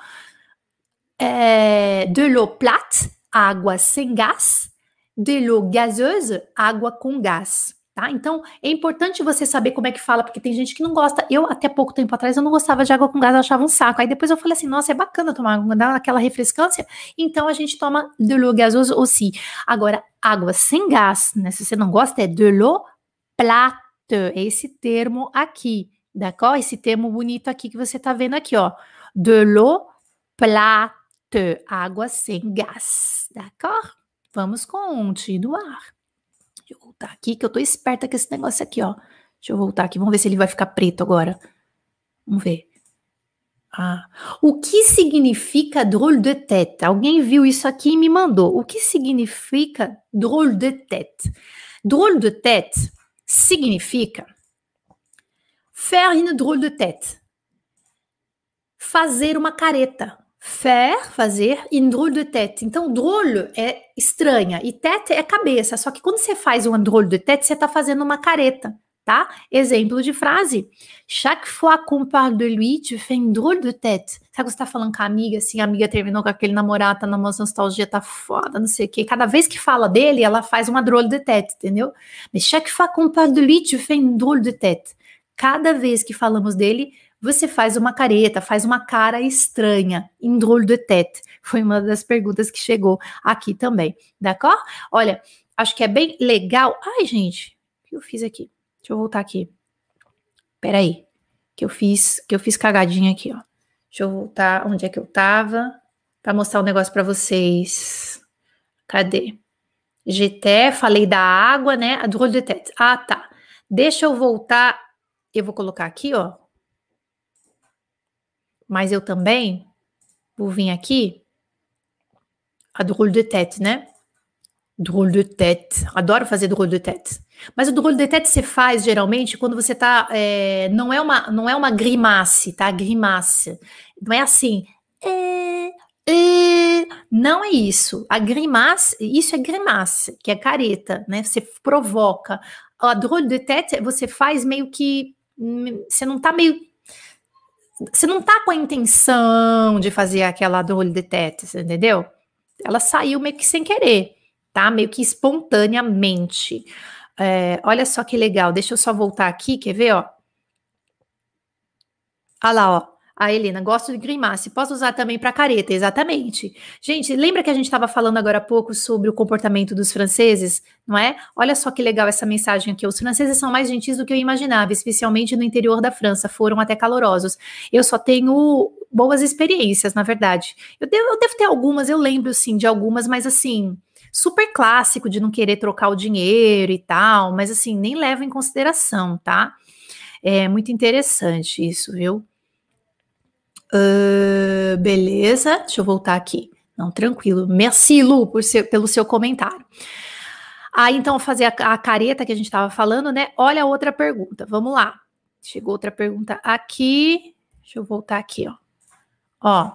É, de l'eau plate, água sem gás. De l'eau gazeuse, água com gás. Tá? Então, é importante você saber como é que fala, porque tem gente que não gosta. Eu, até pouco tempo atrás, eu não gostava de água com gás, eu achava um saco. Aí depois eu falei assim, nossa, é bacana tomar água, dá aquela refrescância. Então, a gente toma de l'eau gazeuse aussi. Agora, água sem gás, né? Se você não gosta, é de l'eau plate. É esse termo aqui, d'accord? Esse termo bonito aqui que você tá vendo aqui, ó. De l'eau plate. Água sem gás, d'accord? Vamos continuar. Deixa eu voltar aqui, que eu tô esperta com esse negócio aqui, ó. Deixa eu voltar aqui, vamos ver se ele vai ficar preto agora. Vamos ver. Ah, o que significa drôle de tête? Alguém viu isso aqui e me mandou. O que significa drôle de tête? Drôle de tête significa faire une drôle de tête. Fazer uma careta. Faire, fazer, une drôle de tête. Então, drôle é estranha e tête é cabeça. Só que quando você faz uma drôle de tête, você está fazendo uma careta, tá? Exemplo de frase. Chaque fois qu'on parle de lui, tu fais une drôle de tête. Sabe que você tá falando com a amiga, assim, a amiga terminou com aquele namorado, tá numa nostalgia, tá foda, não sei o quê. Cada vez que fala dele, ela faz uma drôle de tête, entendeu? Mas chaque fois qu'on parle de lui, tu fais une drôle de tête. Cada vez que falamos dele, você faz uma careta, faz uma cara estranha, em drôle de tête. Foi uma das perguntas que chegou aqui também, d'accord? Olha, acho que é bem legal. Ai, gente, o que eu fiz aqui? Deixa eu voltar aqui. Peraí, que eu fiz, que eu fiz cagadinha aqui, ó. Deixa eu voltar onde é que eu tava, para mostrar um negócio para vocês. Cadê? G T, falei da água, né? A drôle de tête. Ah, tá. Deixa eu voltar. Eu vou colocar aqui, ó. Mas eu também vou vir aqui. A drôle de tête, né? Drôle de tête. Adoro fazer drôle de tête. Mas o drôle de tête você faz geralmente quando você tá. É, não, é uma, não é uma grimace, tá? Grimace. Não é assim. É, é, não é isso. A grimace, isso é grimace, que é careta, né? Você provoca. A drôle de tête você faz meio que. Você não tá meio. Você não tá com a intenção de fazer aquela drôle de tête, você entendeu? Ela saiu meio que sem querer, tá? Meio que espontaneamente. É, olha só que legal, deixa eu só voltar aqui, quer ver, ó? Olha lá, ó. A Helena, gosto de grimace, posso usar também para careta, exatamente. Gente, lembra que a gente estava falando agora há pouco sobre o comportamento dos franceses, não é? Olha só que legal essa mensagem aqui. Os franceses são mais gentis do que eu imaginava, especialmente no interior da França, foram até calorosos. Eu só tenho boas experiências, na verdade. Eu devo, eu devo ter algumas, eu lembro, sim, de algumas, mas assim, super clássico de não querer trocar o dinheiro e tal, mas assim, nem levo em consideração, tá? É muito interessante isso, viu? Uh, beleza, deixa eu voltar aqui. Não, tranquilo. Merci, Lu, por seu, pelo seu comentário. Aí, então, fazer a, a careta que a gente estava falando, né? Olha a outra pergunta. Vamos lá. Chegou outra pergunta aqui. Deixa eu voltar aqui, ó. Ó.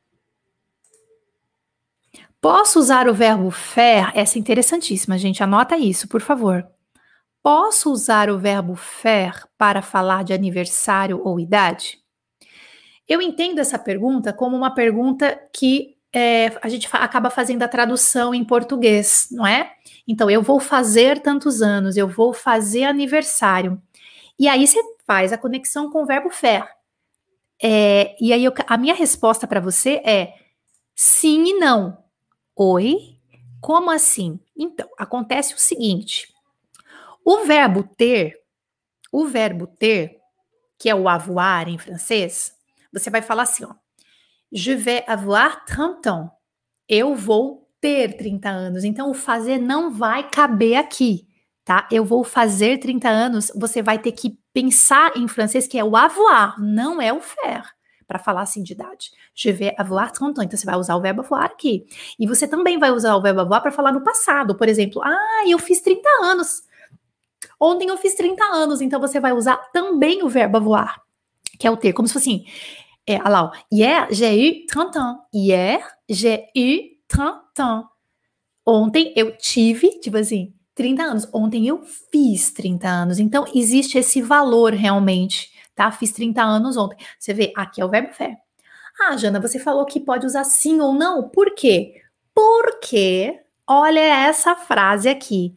Posso usar o verbo faire? Essa é interessantíssima, gente. Anota isso, por favor. Posso usar o verbo faire para falar de aniversário ou idade? Eu entendo essa pergunta como uma pergunta que é, a gente fa- acaba fazendo a tradução em português, não é? Então, eu vou fazer tantos anos, eu vou fazer aniversário. E aí você faz a conexão com o verbo faire. É, e aí eu- a minha resposta para você é sim e não. Oi? Como assim? Então, acontece o seguinte. O verbo ter, o verbo ter, que é o avoir em francês, você vai falar assim, ó. Je vais avoir trente ans. Eu vou ter trinta anos. Então, o fazer não vai caber aqui, tá? Eu vou fazer trinta anos. Você vai ter que pensar em francês, que é o avoir, não é o faire, para falar assim de idade. Je vais avoir trente ans. Então, você vai usar o verbo avoir aqui. E você também vai usar o verbo avoir para falar no passado. Por exemplo, ah, eu fiz trinta anos. Ontem eu fiz trinta anos. Então, você vai usar também o verbo avoir, que é o ter, como se fosse assim. É, olha lá, ó. Hier, j'ai eu trente ans. Hier, j'ai eu trente ans. Ontem eu tive, tipo assim, trinta anos. Ontem eu fiz trinta anos. Então, existe esse valor realmente, tá? Fiz trinta anos ontem. Você vê, aqui é o verbo faire. Ah, Jana, você falou que pode usar sim ou não. Por quê? Porque, olha essa frase aqui.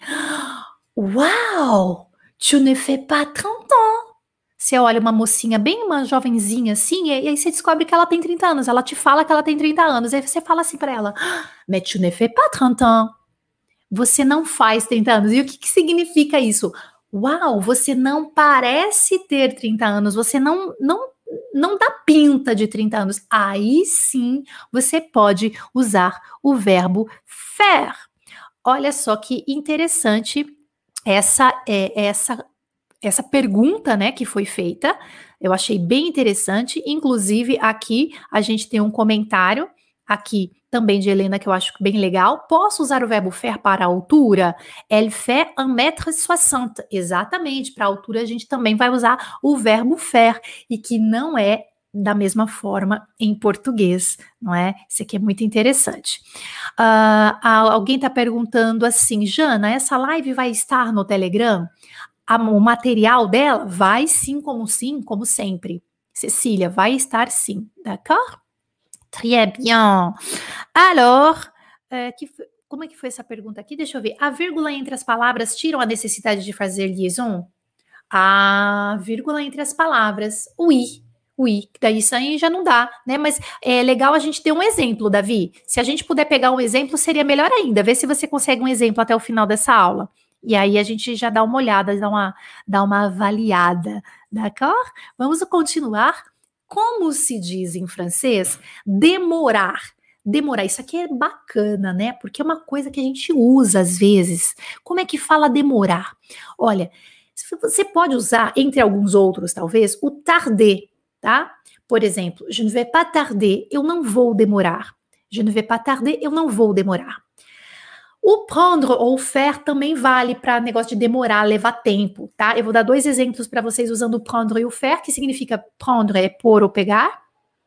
Uau! Tu ne fais pas trente ans. Você olha uma mocinha, bem uma jovenzinha assim, e aí você descobre que ela tem trinta anos. Ela te fala que ela tem trinta anos. Aí você fala assim pra ela, mais tu ne fais pas trente ans. Você não faz trinta anos. E o que, que significa isso? Uau, você não parece ter trinta anos. Você não, não, não dá pinta de trinta anos. Aí sim, você pode usar o verbo faire. Olha só que interessante essa é essa essa pergunta, né, que foi feita. Eu achei bem interessante. Inclusive, aqui a gente tem um comentário aqui também de Helena que eu acho bem legal. Posso usar o verbo faire para a altura? Elle fait un mètre soixante. Exatamente, para a altura a gente também vai usar o verbo faire, e que não é da mesma forma em português, não é? Isso aqui é muito interessante. Uh, alguém está perguntando assim, Jana, essa live vai estar no Telegram? A, o material dela vai sim, como sim, como sempre. Cecília, vai estar sim, d'accord? Très bien. Alors, euh, que, como é que foi essa pergunta aqui? Deixa eu ver. A vírgula entre as palavras tiram a necessidade de fazer liaison? A vírgula entre as palavras, oui, oui, daí isso aí já não dá, né? Mas é legal a gente ter um exemplo, Davi. Se a gente puder pegar um exemplo, seria melhor ainda. Vê se você consegue um exemplo até o final dessa aula. E aí a gente já dá uma olhada, dá uma, dá uma avaliada, d'accord? Vamos continuar. Como se diz em francês? Demorar. Demorar, isso aqui é bacana, né? Porque é uma coisa que a gente usa às vezes. Como é que fala demorar? Olha, você pode usar, entre alguns outros, talvez, o tarder, tá? Por exemplo, je ne vais pas tarder, eu não vou demorar. Je ne vais pas tarder, eu não vou demorar. O prendre ou faire também vale para negócio de demorar, levar tempo, tá? Eu vou dar dois exemplos para vocês usando o prendre e o faire, que significa prendre é pôr ou pegar,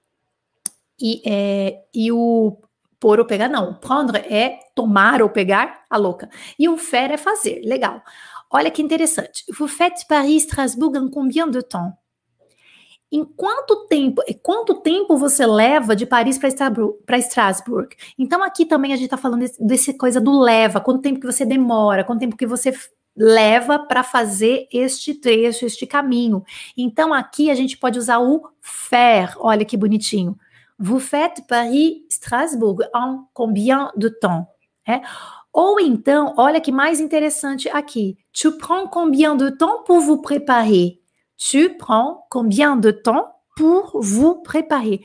e, é, e o pôr ou pegar não, prendre é tomar ou pegar, a louca, e o faire é fazer, legal. Olha que interessante. Vous faites Paris-Strasbourg en combien de temps? Em quanto tempo, quanto tempo você leva de Paris para Estrasburgo? Então aqui também a gente está falando desse, desse coisa do leva, quanto tempo que você demora, quanto tempo que você leva para fazer este trecho, este caminho. Então aqui a gente pode usar o faire, olha que bonitinho. Vous faites Paris-Strasbourg en combien de temps? É? Ou então, olha que mais interessante aqui. Tu prends combien de temps pour vous préparer? Tu prends combien de temps pour vous préparer?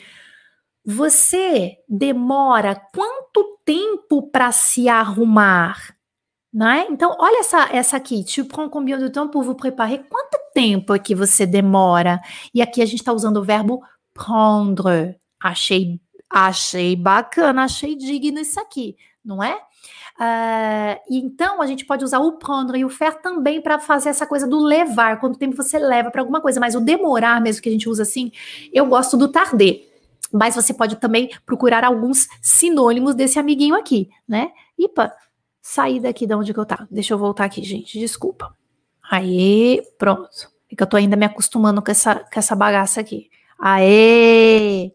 Você demora quanto tempo para se arrumar? Não é? Então, olha essa, essa aqui. Tu prends combien de temps pour vous préparer? Quanto tempo é que você demora? E aqui a gente está usando o verbo prendre. Achei, achei bacana, achei digno isso aqui, não é? Uh, então, a gente pode usar o prendre e o faire também para fazer essa coisa do levar, quanto tempo você leva para alguma coisa, mas o demorar mesmo que a gente usa assim, eu gosto do tarder, mas você pode também procurar alguns sinônimos desse amiguinho aqui, né? Ipa, saí daqui de onde que eu tava, deixa eu voltar aqui, gente, desculpa. Aê, pronto, é que eu tô ainda me acostumando com essa, com essa bagaça aqui. Aê!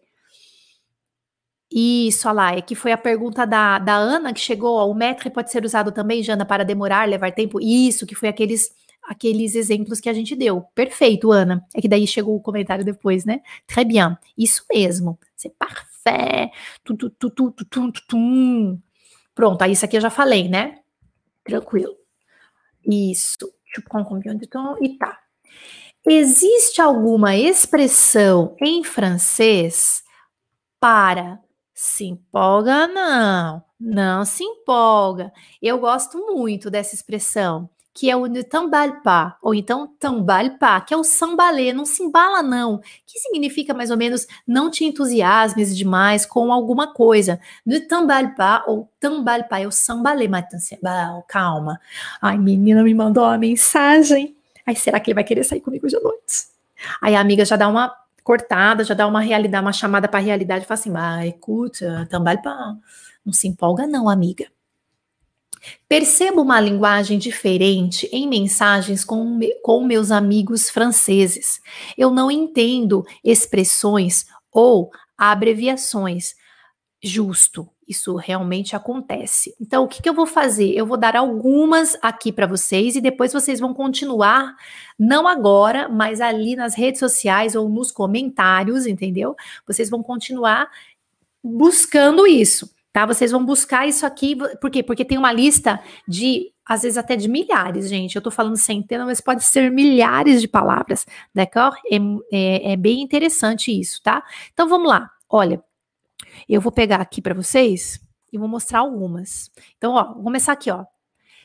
Isso, olha lá, é que foi a pergunta da, da Ana que chegou, ó, o maître pode ser usado também, Jana, para demorar, levar tempo? Isso, que foi aqueles, aqueles exemplos que a gente deu. Perfeito, Ana. É que daí chegou o comentário depois, né? Très bien, isso mesmo, c'est parfait. Tum, tum, tum, tum, tum, tum, tum. Pronto, aí isso aqui eu já falei, né? Tranquilo. Isso, je prends combien de temps? E tá. Existe alguma expressão em francês para... Se empolga, não. Não se empolga. Eu gosto muito dessa expressão, que é o ne t'emballe pas, ou então t'emballe pas, que é o sambalê, não se embala não, que significa mais ou menos não te entusiasmes demais com alguma coisa. Ne t'emballe pas ou t'emballe pas, é o sambalê, mas calma. Ai, menina me mandou uma mensagem. Ai, será que ele vai querer sair comigo hoje à noite? Aí a amiga já dá uma cortada, já dá uma realidade, uma chamada para a realidade, e fala assim, ah, escuta, também não se empolga não, amiga. Percebo uma linguagem diferente em mensagens com, me, com meus amigos franceses. Eu não entendo expressões ou abreviações. Justo, isso realmente acontece. Então, o que, que eu vou fazer? Eu vou dar algumas aqui para vocês e depois vocês vão continuar, não agora, mas ali nas redes sociais ou nos comentários, entendeu? Vocês vão continuar buscando isso, tá? Vocês vão buscar isso aqui, por quê? Porque tem uma lista de, às vezes até de milhares, gente. Eu tô falando centenas, mas pode ser milhares de palavras, d'accord? É, é, é bem interessante isso, tá? Então, vamos lá. Olha, eu vou pegar aqui para vocês e vou mostrar algumas. Então, ó, vou começar aqui, ó.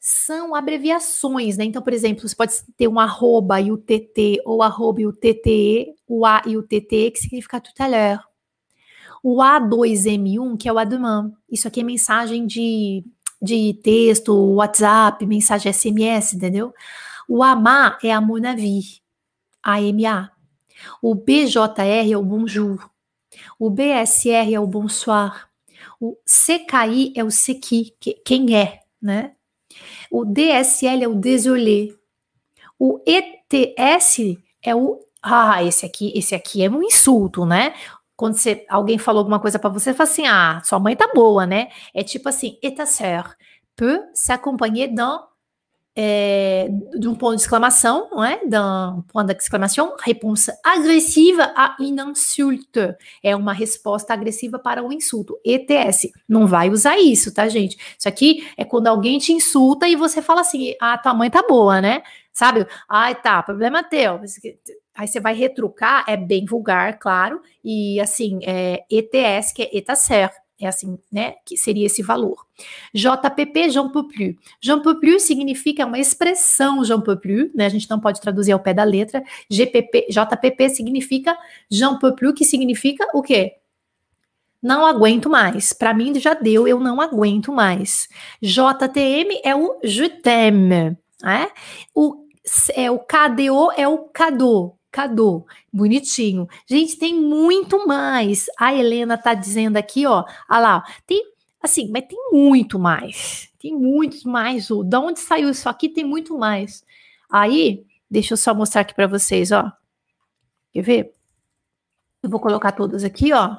são abreviações, né? Então, por exemplo, você pode ter um arroba e o T T, ou arroba e o T T E, o A e o T T E, que significa tout à l'heure. O A dois M um, que é o à demain. Isso aqui é mensagem de, de texto, WhatsApp, mensagem S M S, entendeu? O A M A é à mon avis, A M A. O B J R é o bonjour. O B S R é o bonsoir. O C K I é o c'est qui, que, quem é, né? O D S L é o désolé. O E T S é o... Ah, esse aqui, esse aqui é um insulto, né? Quando você, alguém falou alguma coisa pra você, você fala assim, ah, sua mãe tá boa, né? É tipo assim, et ta sœur peut s'accompagner d'un é, de um ponto de exclamação, não é? D'un point d'exclamation, réponse agressiva à une insulte. É uma resposta agressiva para um insulto. E T S. Não vai usar isso, tá, gente? Isso aqui é quando alguém te insulta e você fala assim, ah, tua mãe tá boa, né? Sabe? Ai, tá, problema teu. Aí você vai retrucar, é bem vulgar, claro, e assim, é E T S, que é eta certo. É assim, né, que seria esse valor. J P P, j'en peux plus. J'en peux plus significa uma expressão j'en peux plus, né, a gente não pode traduzir ao pé da letra. G P P, J P P significa j'en peux plus, que significa o quê? Não aguento mais. Para mim já deu, eu não aguento mais. J T M é o je t'aime, né? O, é, o K D O é o cadeau. Cadô, bonitinho. Gente, tem muito mais. A Helena tá dizendo aqui, ó, olha lá, tem, assim, mas tem muito mais. Tem muito mais. Ó. Da onde saiu isso aqui? Tem muito mais. Aí, deixa eu só mostrar aqui para vocês, ó. Quer ver? Eu vou colocar todas aqui, ó.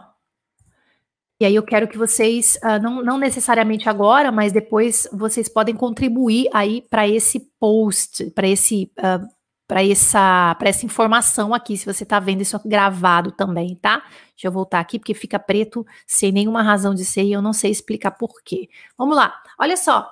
E aí eu quero que vocês, uh, não, não necessariamente agora, mas depois vocês podem contribuir aí para esse post, para esse... Uh, para essa, para essa informação aqui, se você está vendo isso gravado também, tá? Deixa eu voltar aqui, porque fica preto sem nenhuma razão de ser e eu não sei explicar por quê. Vamos lá, olha só.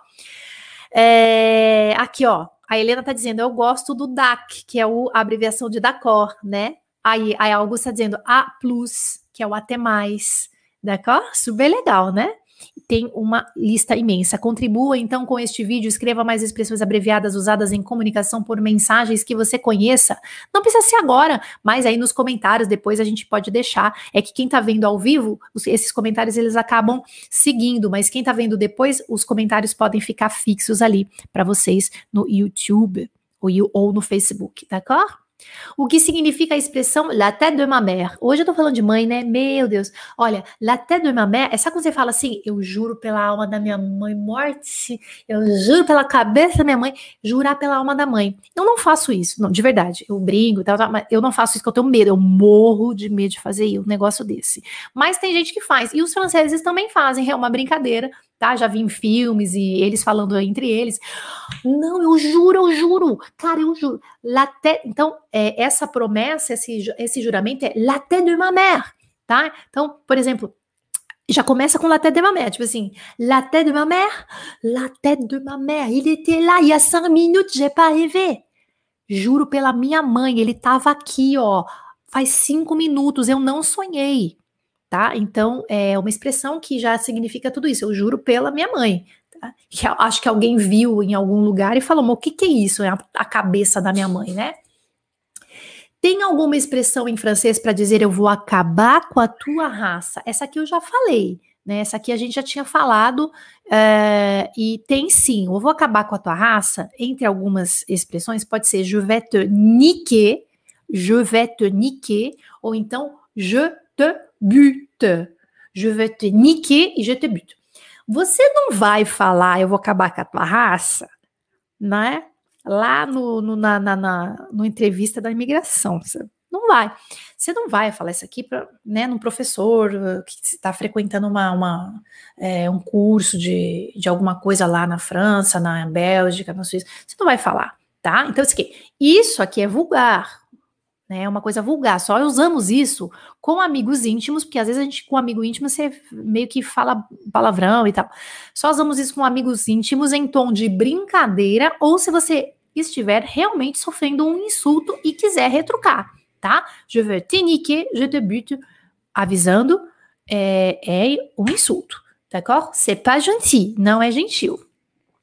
É, aqui, ó, a Helena tá dizendo, eu gosto do D A C, que é o, a abreviação de d'accord, né? Aí a Augusta tá dizendo A plus, que é o até mais, d'accord? Super legal, né? Tem uma lista imensa. Contribua então com este vídeo, escreva mais expressões abreviadas usadas em comunicação por mensagens que você conheça. Não precisa ser agora, mas aí nos comentários depois a gente pode deixar. É que quem tá vendo ao vivo, os, esses comentários eles acabam seguindo, mas quem tá vendo depois, os comentários podem ficar fixos ali para vocês no YouTube ou, ou no Facebook, d'accord? O que significa a expressão la tête de ma mère? Hoje eu tô falando de mãe, né? Meu Deus. Olha, la tête de ma mère, é só quando você fala assim, eu juro pela alma da minha mãe, morte, eu juro pela cabeça da minha mãe, jurar pela alma da mãe. Eu não faço isso, não, de verdade. Eu brinco, tal, tal, mas eu não faço isso porque eu tenho medo, eu morro de medo de fazer um negócio desse. Mas tem gente que faz, e os franceses também fazem, é uma brincadeira, tá? Já vi em filmes e eles falando entre eles. Não, eu juro, eu juro. Cara, eu juro. La tête, então, é, essa promessa, esse, esse juramento é la tête de ma mère, tá? Então, por exemplo, já começa com la tête de ma mère, tipo assim, la tête de ma mère, la tête de ma mère, il était là, il y a cinq minutes, j'ai pas rêvé. Juro pela minha mãe, ele tava aqui, ó, faz cinco minutos, eu não sonhei. Tá? Então, é uma expressão que já significa tudo isso. Eu juro pela minha mãe. Tá? Que acho que alguém viu em algum lugar e falou, o que, que é isso? É a, a cabeça da minha mãe, né? Tem alguma expressão em francês para dizer eu vou acabar com a tua raça? Essa aqui eu já falei, né? Essa aqui a gente já tinha falado é, e tem sim. Eu vou acabar com a tua raça. Entre algumas expressões pode ser je vais te niquer, je vais te niquer, ou então je te bute. Je vais te niquer e je te bute. Você não vai falar, eu vou acabar com a tua raça, né? Lá no, no, na, na, na no entrevista da imigração. Você não vai. Você não vai falar isso aqui para, né, num professor que está frequentando uma, uma, é, um curso de, de alguma coisa lá na França, na Bélgica, na Suíça. Você não vai falar, tá? Então, isso aqui, isso aqui é vulgar. É uma coisa vulgar, só usamos isso com amigos íntimos, porque às vezes a gente com amigo íntimo você meio que fala palavrão e tal. Só usamos isso com amigos íntimos em tom de brincadeira ou se você estiver realmente sofrendo um insulto e quiser retrucar, tá? Je veux te niquer, je te bute, avisando, é, é um insulto, d'accord? C'est pas gentil, não é gentil.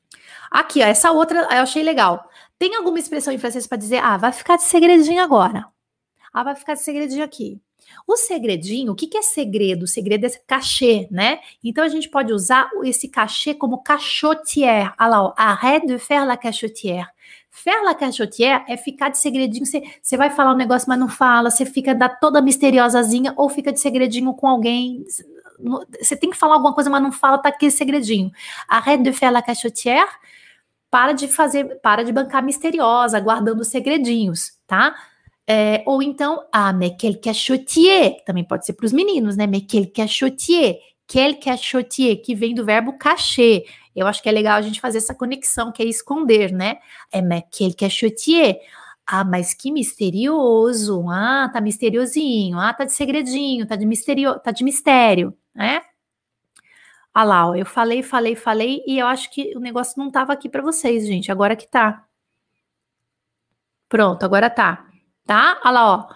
Aqui, ó, essa outra eu achei legal. Tem alguma expressão em francês para dizer, ah, vai ficar de segredinho agora. Ah, vai ficar de segredinho aqui. O segredinho, o que, que é segredo? O segredo é cachê, né? Então a gente pode usar esse cachê como cachotière. Olha lá, ó, arrête de faire la cachotière. Faire la cachotière é ficar de segredinho. Você vai falar um negócio, mas não fala. Você fica da toda misteriosazinha ou fica de segredinho com alguém. Você tem que falar alguma coisa, mas não fala, tá aqui segredinho. Arrête de faire la cachotière. Para de fazer, para de bancar misteriosa, guardando segredinhos, tá? É, ou então, ah, mais quel cachotier, também pode ser para os meninos, né? Mais quel cachotier, quel cachotier, que vem do verbo cachê. Eu acho que é legal a gente fazer essa conexão, que é esconder, né? É mais quel cachotier. Ah, mas que misterioso. Ah, tá misteriosinho. Ah, tá de segredinho, tá de misterio, tá de mistério, né? Ah lá, ó, eu falei, falei, falei, e eu acho que o negócio não tava aqui para vocês, gente. Agora que tá. Pronto, agora tá. Tá? Olha lá, ó.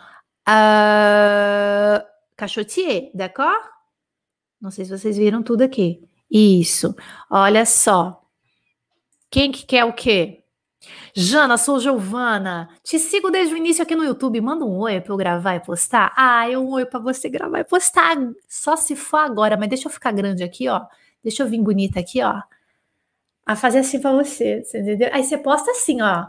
Uh, cachotier, d'accord? Não sei se vocês viram tudo aqui. Isso. Olha só. Quem que quer o quê? Jana, sou Giovana. Te sigo desde o início aqui no YouTube. Manda um oi pra eu gravar e postar. Ah, eu um oi pra você gravar e postar. Só se for agora, mas deixa eu ficar grande aqui, ó. Deixa eu vir bonita aqui, ó. A fazer assim pra você, você entendeu? Aí você posta assim, ó.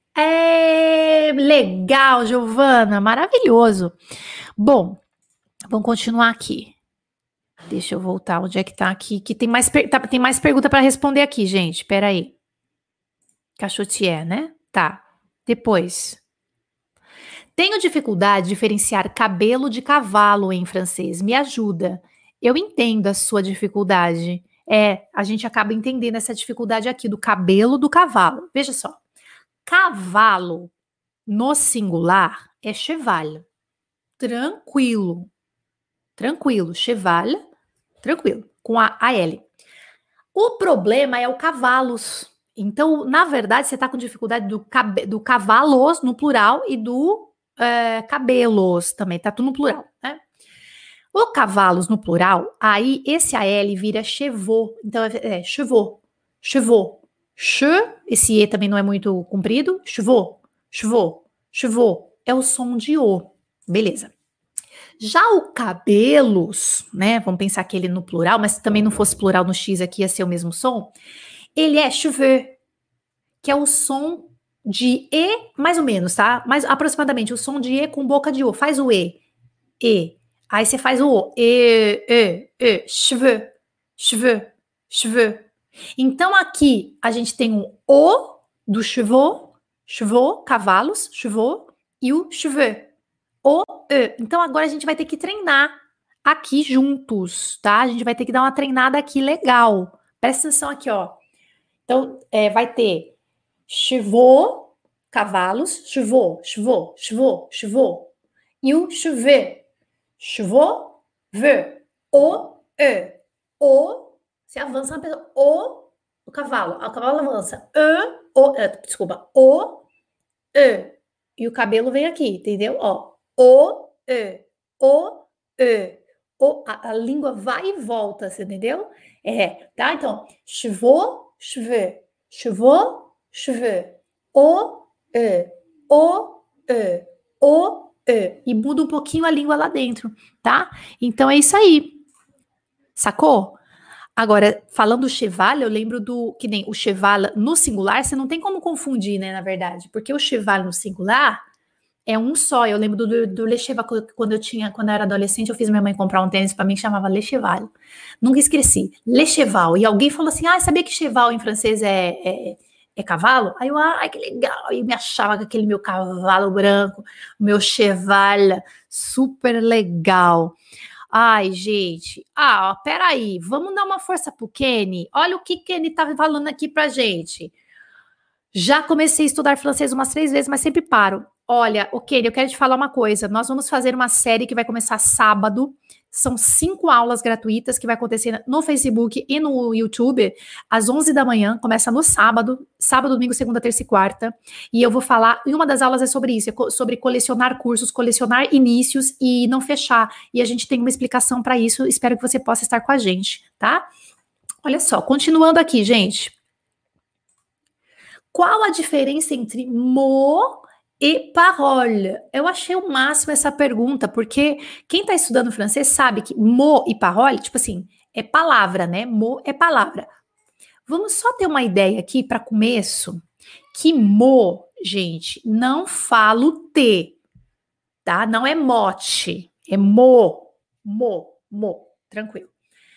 É legal, Giovana, maravilhoso. Bom, vamos continuar aqui. Deixa eu voltar, onde é que tá aqui? Que tem mais, tá, tem mais pergunta para responder aqui, gente. Pera aí. Cachotier, né? Tá. Depois. Tenho dificuldade de diferenciar cabelo de cavalo em francês. Me ajuda. Eu entendo a sua dificuldade. É, a gente acaba entendendo essa dificuldade aqui do cabelo do cavalo. Veja só. Cavalo no singular é cheval. Tranquilo. Tranquilo. Cheval, tranquilo. Com a A-L. O problema é o cavalos. Então, na verdade, você está com dificuldade do, cabe, do cavalos no plural e do é, cabelos também. Tá tudo no plural, né? O cavalos no plural, aí esse A L vira chevaux. Então, é, é chevaux. Chevaux. Che, esse E também não é muito comprido. Chevaux. Chevaux. Chevaux. É o som de O. Beleza. Já o cabelos, né? Vamos pensar que ele no plural, mas se também não fosse plural no X aqui, ia ser o mesmo som. Ele é cheveux, que é o som de E, mais ou menos, tá? Mas aproximadamente o som de E com boca de O. Faz o E. E. Aí você faz o O. E, E, E. Cheveux, cheveux, cheveux. Então aqui a gente tem um O do chevaux, chevaux, cavalos, chevaux, e o cheveux. O, E. Então agora a gente vai ter que treinar aqui juntos, tá? A gente vai ter que dar uma treinada aqui legal. Presta atenção aqui, ó. Então, é, vai ter chevaux, cavalos, chevaux, chevaux, chevaux, chevaux. E o cheveux, chevaux, ve, o, E. O, você avança na pessoa, o, o cavalo, o cavalo avança, E, o, é, desculpa, o, E. E o cabelo vem aqui, entendeu? Ó, o, E, o, E. O, a, a língua vai e volta, você entendeu? É, tá? Então, chevaux, cheveux, chevaux, cheveux, o, E, o, E, o, E. E muda um pouquinho a língua lá dentro, tá? Então é isso aí. Sacou? Agora, falando do cheval, eu lembro do, que nem o cheval no singular, você não tem como confundir, né, na verdade, porque o cheval no singular é um só. Eu lembro do, do, do Le Cheval, quando eu tinha, quando eu era adolescente, eu fiz minha mãe comprar um tênis para mim que chamava Le Cheval. Nunca esqueci. Le Cheval. E alguém falou assim, ah, sabia que cheval em francês é, é, é cavalo? Aí eu, ai, que legal. E me achava que aquele meu cavalo branco, meu cheval, super legal. Ai, gente. Ah, ó, peraí. Vamos dar uma força pro Kenny. Olha o que Kenny tá falando aqui pra gente. Já comecei a estudar francês umas três vezes, mas sempre paro. Olha, o Kenny, eu quero te falar uma coisa. Nós vamos fazer uma série que vai começar sábado. São cinco aulas gratuitas que vai acontecer no Facebook e no YouTube às onze da manhã. Começa no sábado, sábado, domingo, segunda, terça e quarta. E eu vou falar, e uma das aulas é sobre isso, é sobre colecionar cursos, colecionar inícios e não fechar. E a gente tem uma explicação para isso. Espero que você possa estar com a gente, tá? Olha só, continuando aqui, gente. Qual a diferença entre mot e parole? Eu achei o máximo essa pergunta, porque quem está estudando francês sabe que mot e parole, tipo assim, é palavra, né? Mot é palavra. Vamos só ter uma ideia aqui para começo, que mot, gente, não falo T, tá? Não é mote, é mo, mo, mo, tranquilo.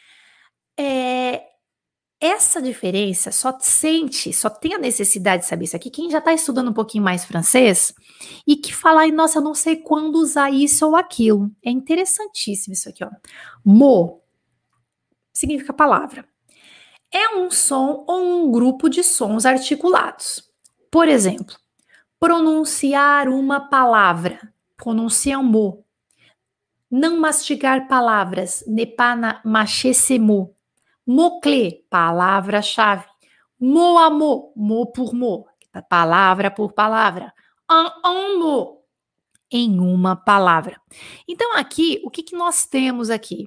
É, essa diferença só sente, só tem a necessidade de saber isso aqui quem já está estudando um pouquinho mais francês e que fala, ai, nossa, eu não sei quando usar isso ou aquilo. É interessantíssimo isso aqui, ó. Mot significa palavra. É um som ou um grupo de sons articulados. Por exemplo, pronunciar uma palavra, prononcer un mot. Não mastigar palavras, ne pas mâcher ces mots. Mot-clé, palavra-chave. Mot a mot, mot por mot, palavra por palavra. En un mot, em uma palavra. Então aqui, o que, que nós temos aqui?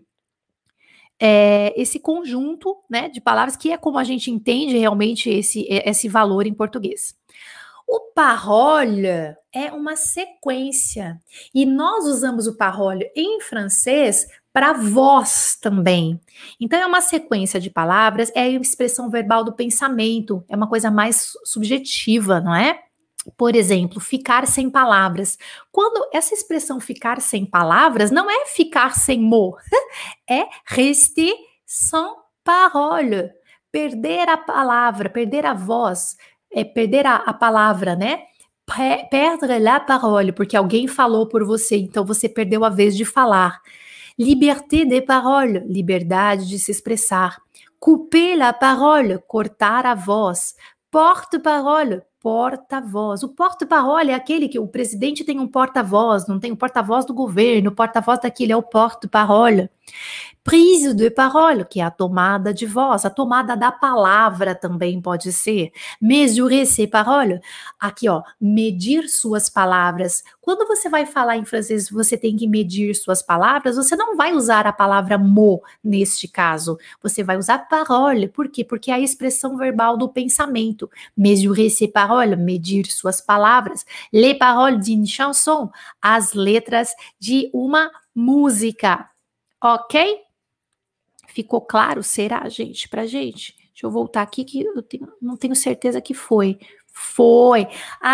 É esse conjunto, né, de palavras que é como a gente entende realmente esse, esse valor em português. O parole é uma sequência e nós usamos o parole em francês para voz também. Então é uma sequência de palavras, é a expressão verbal do pensamento, é uma coisa mais subjetiva, não é? Por exemplo, ficar sem palavras. Quando essa expressão ficar sem palavras não é ficar sem mot, é rester sans parole, perder a palavra, perder a voz, é perder a, a palavra, né? Perdre la parole, porque alguém falou por você, então você perdeu a vez de falar. Liberté de parole, liberdade de se expressar. Couper la parole, cortar a voz. Porte-parole, porta-voz. O porta-parole é aquele que o presidente tem um porta-voz, não tem o porta-voz do governo, o porta-voz daquele é o porte-parole. Prise de parole, que é a tomada de voz, a tomada da palavra também pode ser. Mesurer ses paroles, aqui ó, medir suas palavras. Quando você vai falar em francês, você tem que medir suas palavras, você não vai usar a palavra mot neste caso, você vai usar parole. Por quê? Porque é a expressão verbal do pensamento. Mesurer ses paroles, medir suas palavras. Les paroles d'une chanson, as letras de uma música. Ok? Ficou claro? Será, gente? Pra gente? Deixa eu voltar aqui que eu tenho, não tenho certeza que foi. Foi.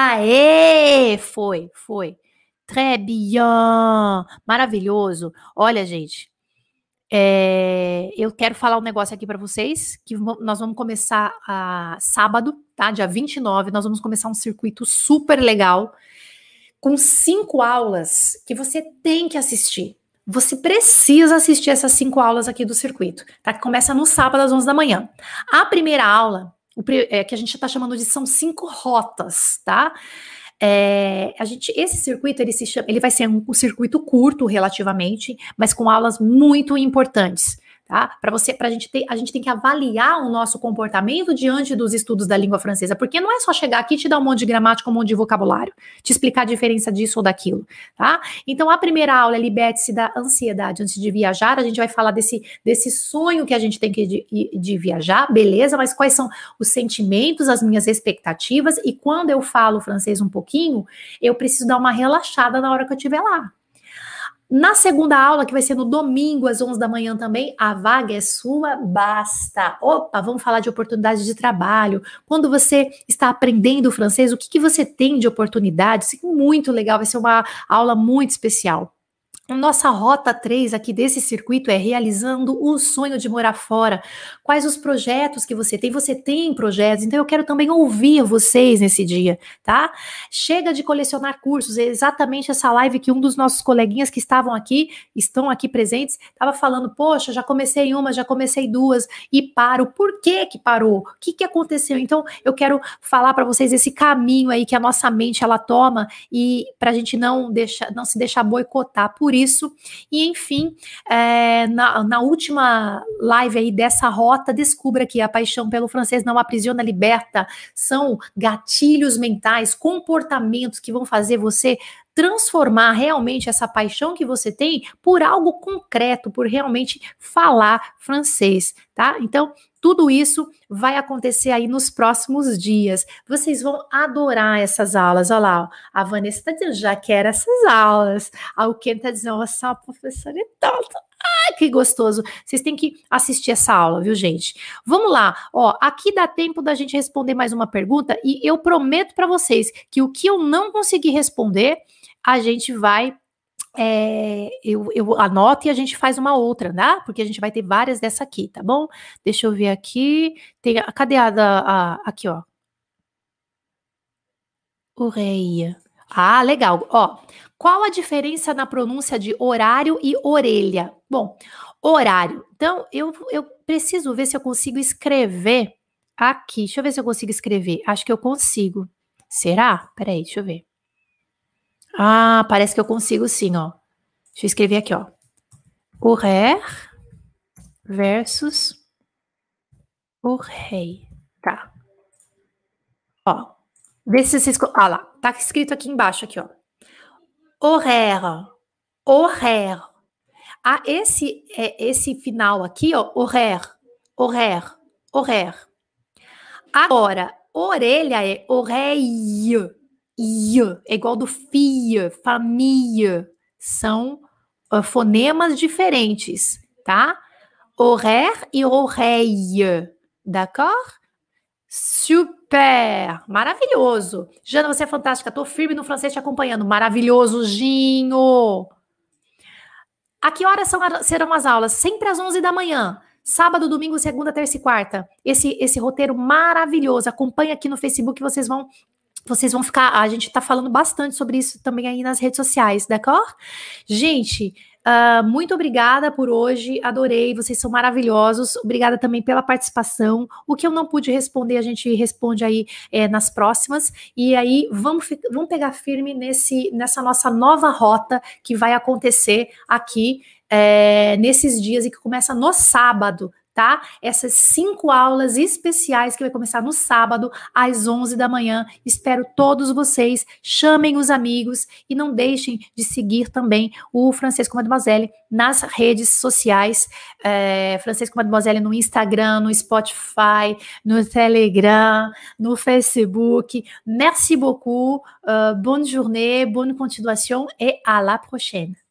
Aê! Foi, foi. Très bien. Maravilhoso. Olha, gente, é, eu quero falar um negócio aqui para vocês, que nós vamos começar a, sábado, tá? Dia vinte e nove, nós vamos começar um circuito super legal, com cinco aulas que você tem que assistir. Você precisa assistir essas cinco aulas aqui do circuito, tá? Que começa no sábado às onze da manhã. A primeira aula, o, é, que a gente está chamando de são cinco rotas, tá? É, a gente, esse circuito, ele, se chama, ele vai ser um, um circuito curto relativamente, mas com aulas muito importantes, tá? Para você, para a gente ter, a gente tem que avaliar o nosso comportamento diante dos estudos da língua francesa, porque não é só chegar aqui e te dar um monte de gramática, um monte de vocabulário, te explicar a diferença disso ou daquilo, tá? Então, a primeira aula é liberte-se da ansiedade antes de viajar. A gente vai falar desse, desse sonho que a gente tem que de, de viajar, beleza? Mas quais são os sentimentos, as minhas expectativas? E quando eu falo francês um pouquinho, eu preciso dar uma relaxada na hora que eu estiver lá. Na segunda aula, que vai ser no domingo, às onze da manhã também, a vaga é sua, basta. Opa, vamos falar de oportunidades de trabalho. Quando você está aprendendo francês, o que, que você tem de oportunidades? Muito legal, vai ser uma aula muito especial. A nossa rota três aqui desse circuito é realizando o sonho de morar fora. Quais os projetos que você tem? Você tem projetos, então eu quero também ouvir vocês nesse dia, tá? Chega de colecionar cursos, é exatamente essa live que um dos nossos coleguinhas que estavam aqui, estão aqui presentes, estava falando, poxa, já comecei uma, já comecei duas e paro. Por que que parou? O que que aconteceu? Então eu quero falar para vocês esse caminho aí que a nossa mente ela toma e para a gente não, deixar, não se deixar boicotar por isso. Isso, e enfim, é, na, na última live aí dessa rota, descubra que a paixão pelo francês não aprisiona, liberta, são gatilhos mentais, comportamentos que vão fazer você transformar realmente essa paixão que você tem por algo concreto, por realmente falar francês, tá? Então, tudo isso vai acontecer aí nos próximos dias. Vocês vão adorar essas aulas. Olha lá, ó. A Vanessa está dizendo, já quero essas aulas. A Ken está dizendo, nossa, a professora é tonta. Ai, que gostoso. Vocês têm que assistir essa aula, viu, gente? Vamos lá. Ó, aqui dá tempo da gente responder mais uma pergunta e eu prometo para vocês que o que eu não conseguir responder, a gente vai... É, eu, eu anoto e a gente faz uma outra, né? Porque a gente vai ter várias dessa aqui, tá bom? Deixa eu ver aqui. Tem, cadê a, da, a aqui, ó? Orelha. Ah, legal. Ó, qual a diferença na pronúncia de horário e orelha? Bom, horário. Então, eu, eu preciso ver se eu consigo escrever aqui. Deixa eu ver se eu consigo escrever. Acho que eu consigo. Será? Peraí, deixa eu ver. Ah, parece que eu consigo sim, ó. Deixa eu escrever aqui, ó. Horaire versus oreille. Tá. Ó. Vê se vocês... Ah lá. Tá escrito aqui embaixo, aqui, ó. Horaire. Horaire. Ah, esse, é, esse final aqui, ó. Horaire. Horaire. Horaire. Agora, orelha é oreille. I. É igual do fille, famille. São uh, fonemas diferentes, tá? Horaire e oreille. D'accord? Super! Maravilhoso! Jana, você é fantástica. Tô firme no francês te acompanhando. Maravilhoso, Ginho! A que horas são, serão as aulas? Sempre às onze da manhã. Sábado, domingo, segunda, terça e quarta. Esse, esse roteiro maravilhoso. Acompanha aqui no Facebook, vocês vão... Vocês vão ficar... A gente tá falando bastante sobre isso também aí nas redes sociais, d'accord? Gente... Uh, muito obrigada por hoje, adorei, vocês são maravilhosos, obrigada também pela participação. O que eu não pude responder, a gente responde aí é, nas próximas, e aí vamos, vamos pegar firme nesse, nessa nossa nova rota que vai acontecer aqui é, nesses dias e que começa no sábado, tá? Essas cinco aulas especiais que vai começar no sábado, às onze da manhã. Espero todos vocês, chamem os amigos e não deixem de seguir também o Francês com Mademoiselle nas redes sociais. É, Francês com Mademoiselle no Instagram, no Spotify, no Telegram, no Facebook. Merci beaucoup, uh, bonne journée, bonne continuation et à la prochaine.